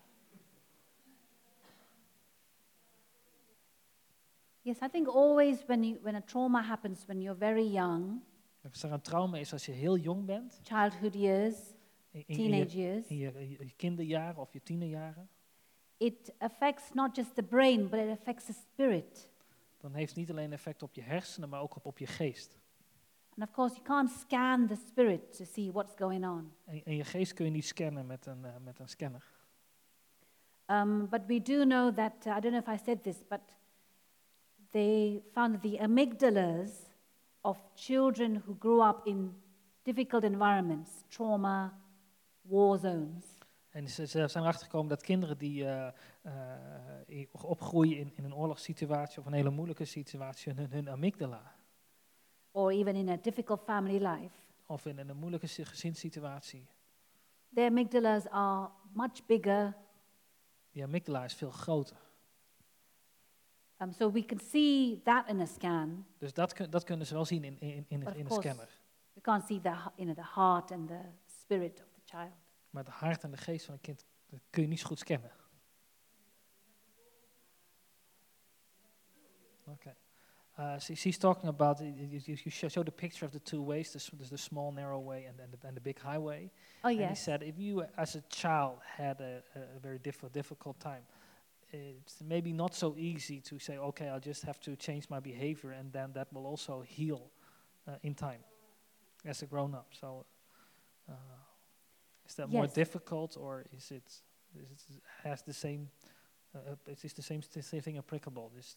Speaker 1: Yes, I think always when you, when a trauma happens when you're very young,
Speaker 2: als er een trauma is als je heel jong bent,
Speaker 1: childhood years,
Speaker 2: in, in, in,
Speaker 1: teenage
Speaker 2: je,
Speaker 1: years,
Speaker 2: in je, in je kinderjaren of je tienerjaren,
Speaker 1: it affects not just the brain, but it affects the spirit.
Speaker 2: dan heeft het niet alleen effect op je hersenen, maar ook op, op je geest.
Speaker 1: And of course, you can't scan the spirit to see what's going on.
Speaker 2: En, en je geest kun je niet scannen met een, uh, met een scanner.
Speaker 1: Um, but we do know that, uh, I don't know if I said this, but they found that the amygdalas of children who grew up in difficult environments, trauma, war zones,
Speaker 2: En ze, ze zijn erachter gekomen dat kinderen die uh, uh, opgroeien in, in een oorlogssituatie of een hele moeilijke situatie, hun, hun amygdala,
Speaker 1: or even in a difficult family life,
Speaker 2: of in, in een moeilijke si- gezinssituatie,
Speaker 1: their amygdalas are much bigger.
Speaker 2: die amygdala is veel groter.
Speaker 1: Um, so we can see that in a scan.
Speaker 2: Dus dat, kun, dat kunnen ze wel zien in, in, in,
Speaker 1: But of
Speaker 2: in een
Speaker 1: course,
Speaker 2: scanner.
Speaker 1: we can't see the, h- you know, the heart and the spirit of the child.
Speaker 2: Maar het hart en de geest van een kind dat kun je niet zo goed scannen. Okay. Uh, so she's talking about, uh, you, you you show, show the picture of the two ways, the, s- there's the small narrow way and, and, the, and the big highway.
Speaker 1: Oh,
Speaker 2: And he
Speaker 1: yes.
Speaker 2: said if you as a child had a, a very diff- difficult time, it's maybe not so easy to say, okay, I'll just have to change my behavior and then that will also heal uh, in time as a grown-up. So uh, is that more
Speaker 1: Yes.
Speaker 2: difficult or is it, is it has the same, uh, uh, is this the same, the same thing applicable? This,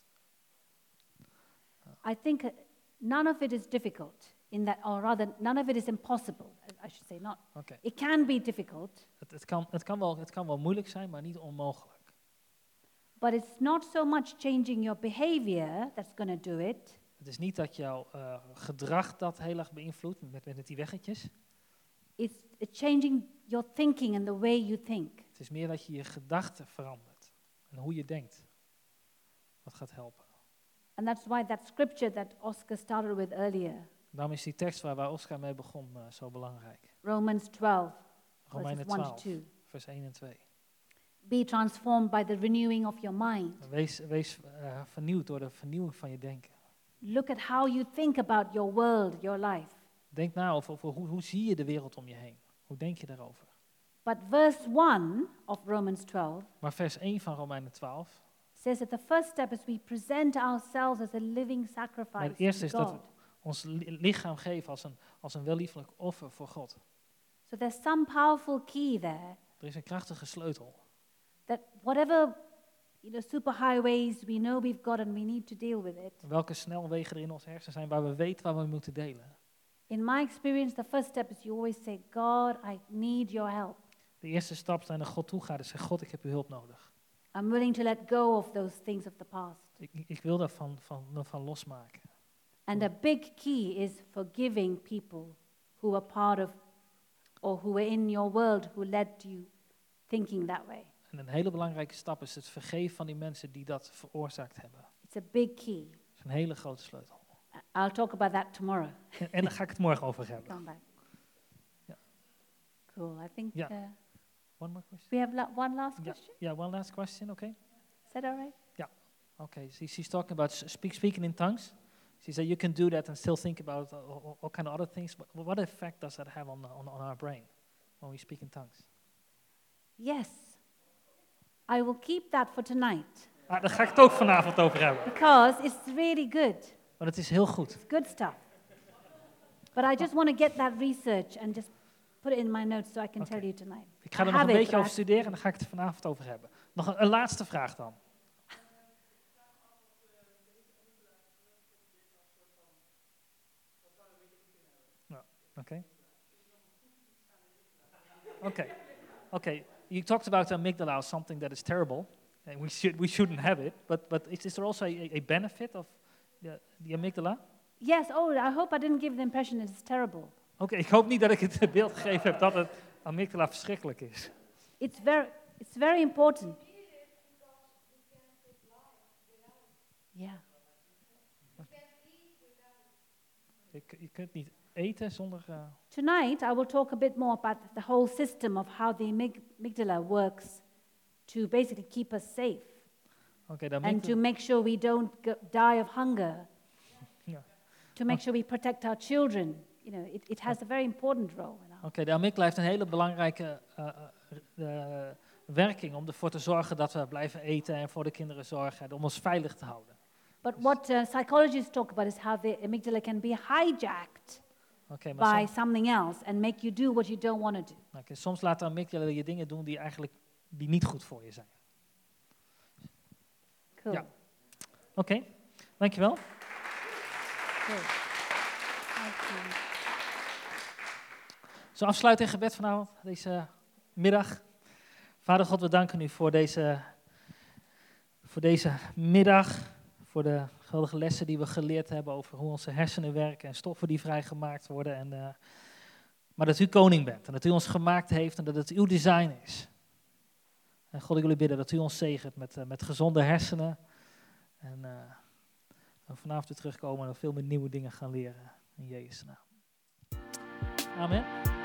Speaker 1: I think uh, none of it is difficult in that, or rather, none of it is impossible, I- I should say. Not.
Speaker 2: okay.
Speaker 1: It can be difficult,
Speaker 2: Het, het, kan, het, kan wel, het kan wel moeilijk zijn, maar niet onmogelijk.
Speaker 1: but it's not so much changing your behavior that's going to do it.
Speaker 2: Het is niet dat jouw uh, gedrag dat heel erg beïnvloedt met, met die weggetjes.
Speaker 1: it's, it's changing your thinking and the way you think.
Speaker 2: Het is meer dat je je gedachten verandert en hoe je denkt. Wat gaat helpen.
Speaker 1: And that's why that scripture that Oscar started with earlier,
Speaker 2: Daarom is die tekst waar, waar Oscar mee begon uh, zo belangrijk.
Speaker 1: Romans twelve,
Speaker 2: Romeinen
Speaker 1: verses one to
Speaker 2: twaalf,
Speaker 1: two.
Speaker 2: vers één en twee.
Speaker 1: Be transformed by the renewing of your mind.
Speaker 2: Wees, wees uh, vernieuwd door de vernieuwing van je denken.
Speaker 1: Look at how you think about your world, your life.
Speaker 2: Denk na over, over hoe, hoe zie je de wereld om je heen. Hoe denk je daarover?
Speaker 1: But verse one of Romans twelve
Speaker 2: Maar vers één van Romeinen twaalf.
Speaker 1: says that the first step is we present ourselves as a living
Speaker 2: Maar
Speaker 1: sacrifice
Speaker 2: het eerste
Speaker 1: to
Speaker 2: is dat
Speaker 1: God.
Speaker 2: we ons li- lichaam geven als een, als een welliefelijk offer voor God.
Speaker 1: So there's some powerful key there
Speaker 2: Er is een krachtige sleutel.
Speaker 1: that whatever you know, superhighways we know we've got and we need to deal with it.
Speaker 2: Welke snelwegen er in ons hersen zijn waar we weten waar we moeten delen.
Speaker 1: In my experience, the first step is you always say, God, I need your help.
Speaker 2: De eerste stap is naar God toe gaan en zeggen, God, ik heb uw hulp nodig.
Speaker 1: I'm willing to let go of those things of the past.
Speaker 2: Ik, ik wil daarvan van, van losmaken.
Speaker 1: And a big key is forgiving people who are part of or who were in your world who led you thinking that way.
Speaker 2: En een hele belangrijke stap is het vergeven van die mensen die dat veroorzaakt hebben.
Speaker 1: It's a big key.
Speaker 2: Dat is een hele grote sleutel.
Speaker 1: I- I'll talk about that tomorrow.
Speaker 2: En, en daar ga ik het morgen over hebben.
Speaker 1: Come back.
Speaker 2: Yeah.
Speaker 1: Cool. I think
Speaker 2: Yeah.
Speaker 1: uh,
Speaker 2: One more question?
Speaker 1: we have la- one last
Speaker 2: Yeah,
Speaker 1: question.
Speaker 2: yeah, one last question, okay?
Speaker 1: Is that all right?
Speaker 2: Okay, so she's talking about s- speak, speaking in tongues. She said you can do that and still think about all, all, all kind of other things. But what effect does that have on, on, on our brain when we speak in tongues?
Speaker 1: Yes. I will keep that for tonight
Speaker 2: Ah, daar ga ik het ook vanavond over hebben.
Speaker 1: because it's really good.
Speaker 2: Want het is heel goed.
Speaker 1: It's good stuff. But I just want to get that research and just put it in my notes so I can
Speaker 2: Okay.
Speaker 1: tell you tonight.
Speaker 2: Ik ga er
Speaker 1: I
Speaker 2: nog een
Speaker 1: have it,
Speaker 2: beetje
Speaker 1: but
Speaker 2: over
Speaker 1: I-
Speaker 2: studeren en dan ga ik het er vanavond over hebben. Nog een, een laatste vraag dan. Ja, Oké. Oké. Oké. You talked about the amygdala as something that is terrible, and we should we shouldn't have it. But but is, is there also a, a benefit of the, the amygdala?
Speaker 1: Yes, oh, I hope I didn't give the impression it's terrible.
Speaker 2: Oké, ik hoop niet dat ik het beeld gegeven heb dat het amygdala verschrikkelijk is.
Speaker 1: It's very, it's very important. Yeah.
Speaker 2: Je, k- je kunt niet eten zonder. Uh,
Speaker 1: Tonight, I will talk a bit more about the whole system of how the amyg- amygdala works to basically keep us safe
Speaker 2: Oké, de
Speaker 1: and to
Speaker 2: amygdala.
Speaker 1: make sure we don't go, die of hunger,
Speaker 2: Ja.
Speaker 1: to make sure we protect our children. You know, it, it has a very important role. In our
Speaker 2: Oké, de amygdala heeft een hele belangrijke uh, uh, uh, werking om ervoor te zorgen dat we blijven eten en voor de kinderen zorgen, om ons veilig te houden.
Speaker 1: But what uh, psychologists talk about is how the amygdala can be hijacked
Speaker 2: Oké, maar
Speaker 1: by
Speaker 2: soms,
Speaker 1: something else and make you do what you don't want to do.
Speaker 2: oké, soms laat de amygdala je dingen doen die eigenlijk die niet goed voor je zijn.
Speaker 1: Cool.
Speaker 2: Ja. Oké, dankjewel.
Speaker 1: Cool. Thank you.
Speaker 2: Zo afsluiten in gebed vanavond, deze middag. Vader God, we danken u voor deze, voor deze middag, voor de geweldige lessen die we geleerd hebben over hoe onze hersenen werken en stoffen die vrijgemaakt worden. En, uh, maar dat u koning bent en dat u ons gemaakt heeft en dat het uw design is. En God, ik wil u bidden dat u ons zegent met, uh, met gezonde hersenen. En uh, we vanavond weer terugkomen en veel meer nieuwe dingen gaan leren. In Jezus' naam. Amen.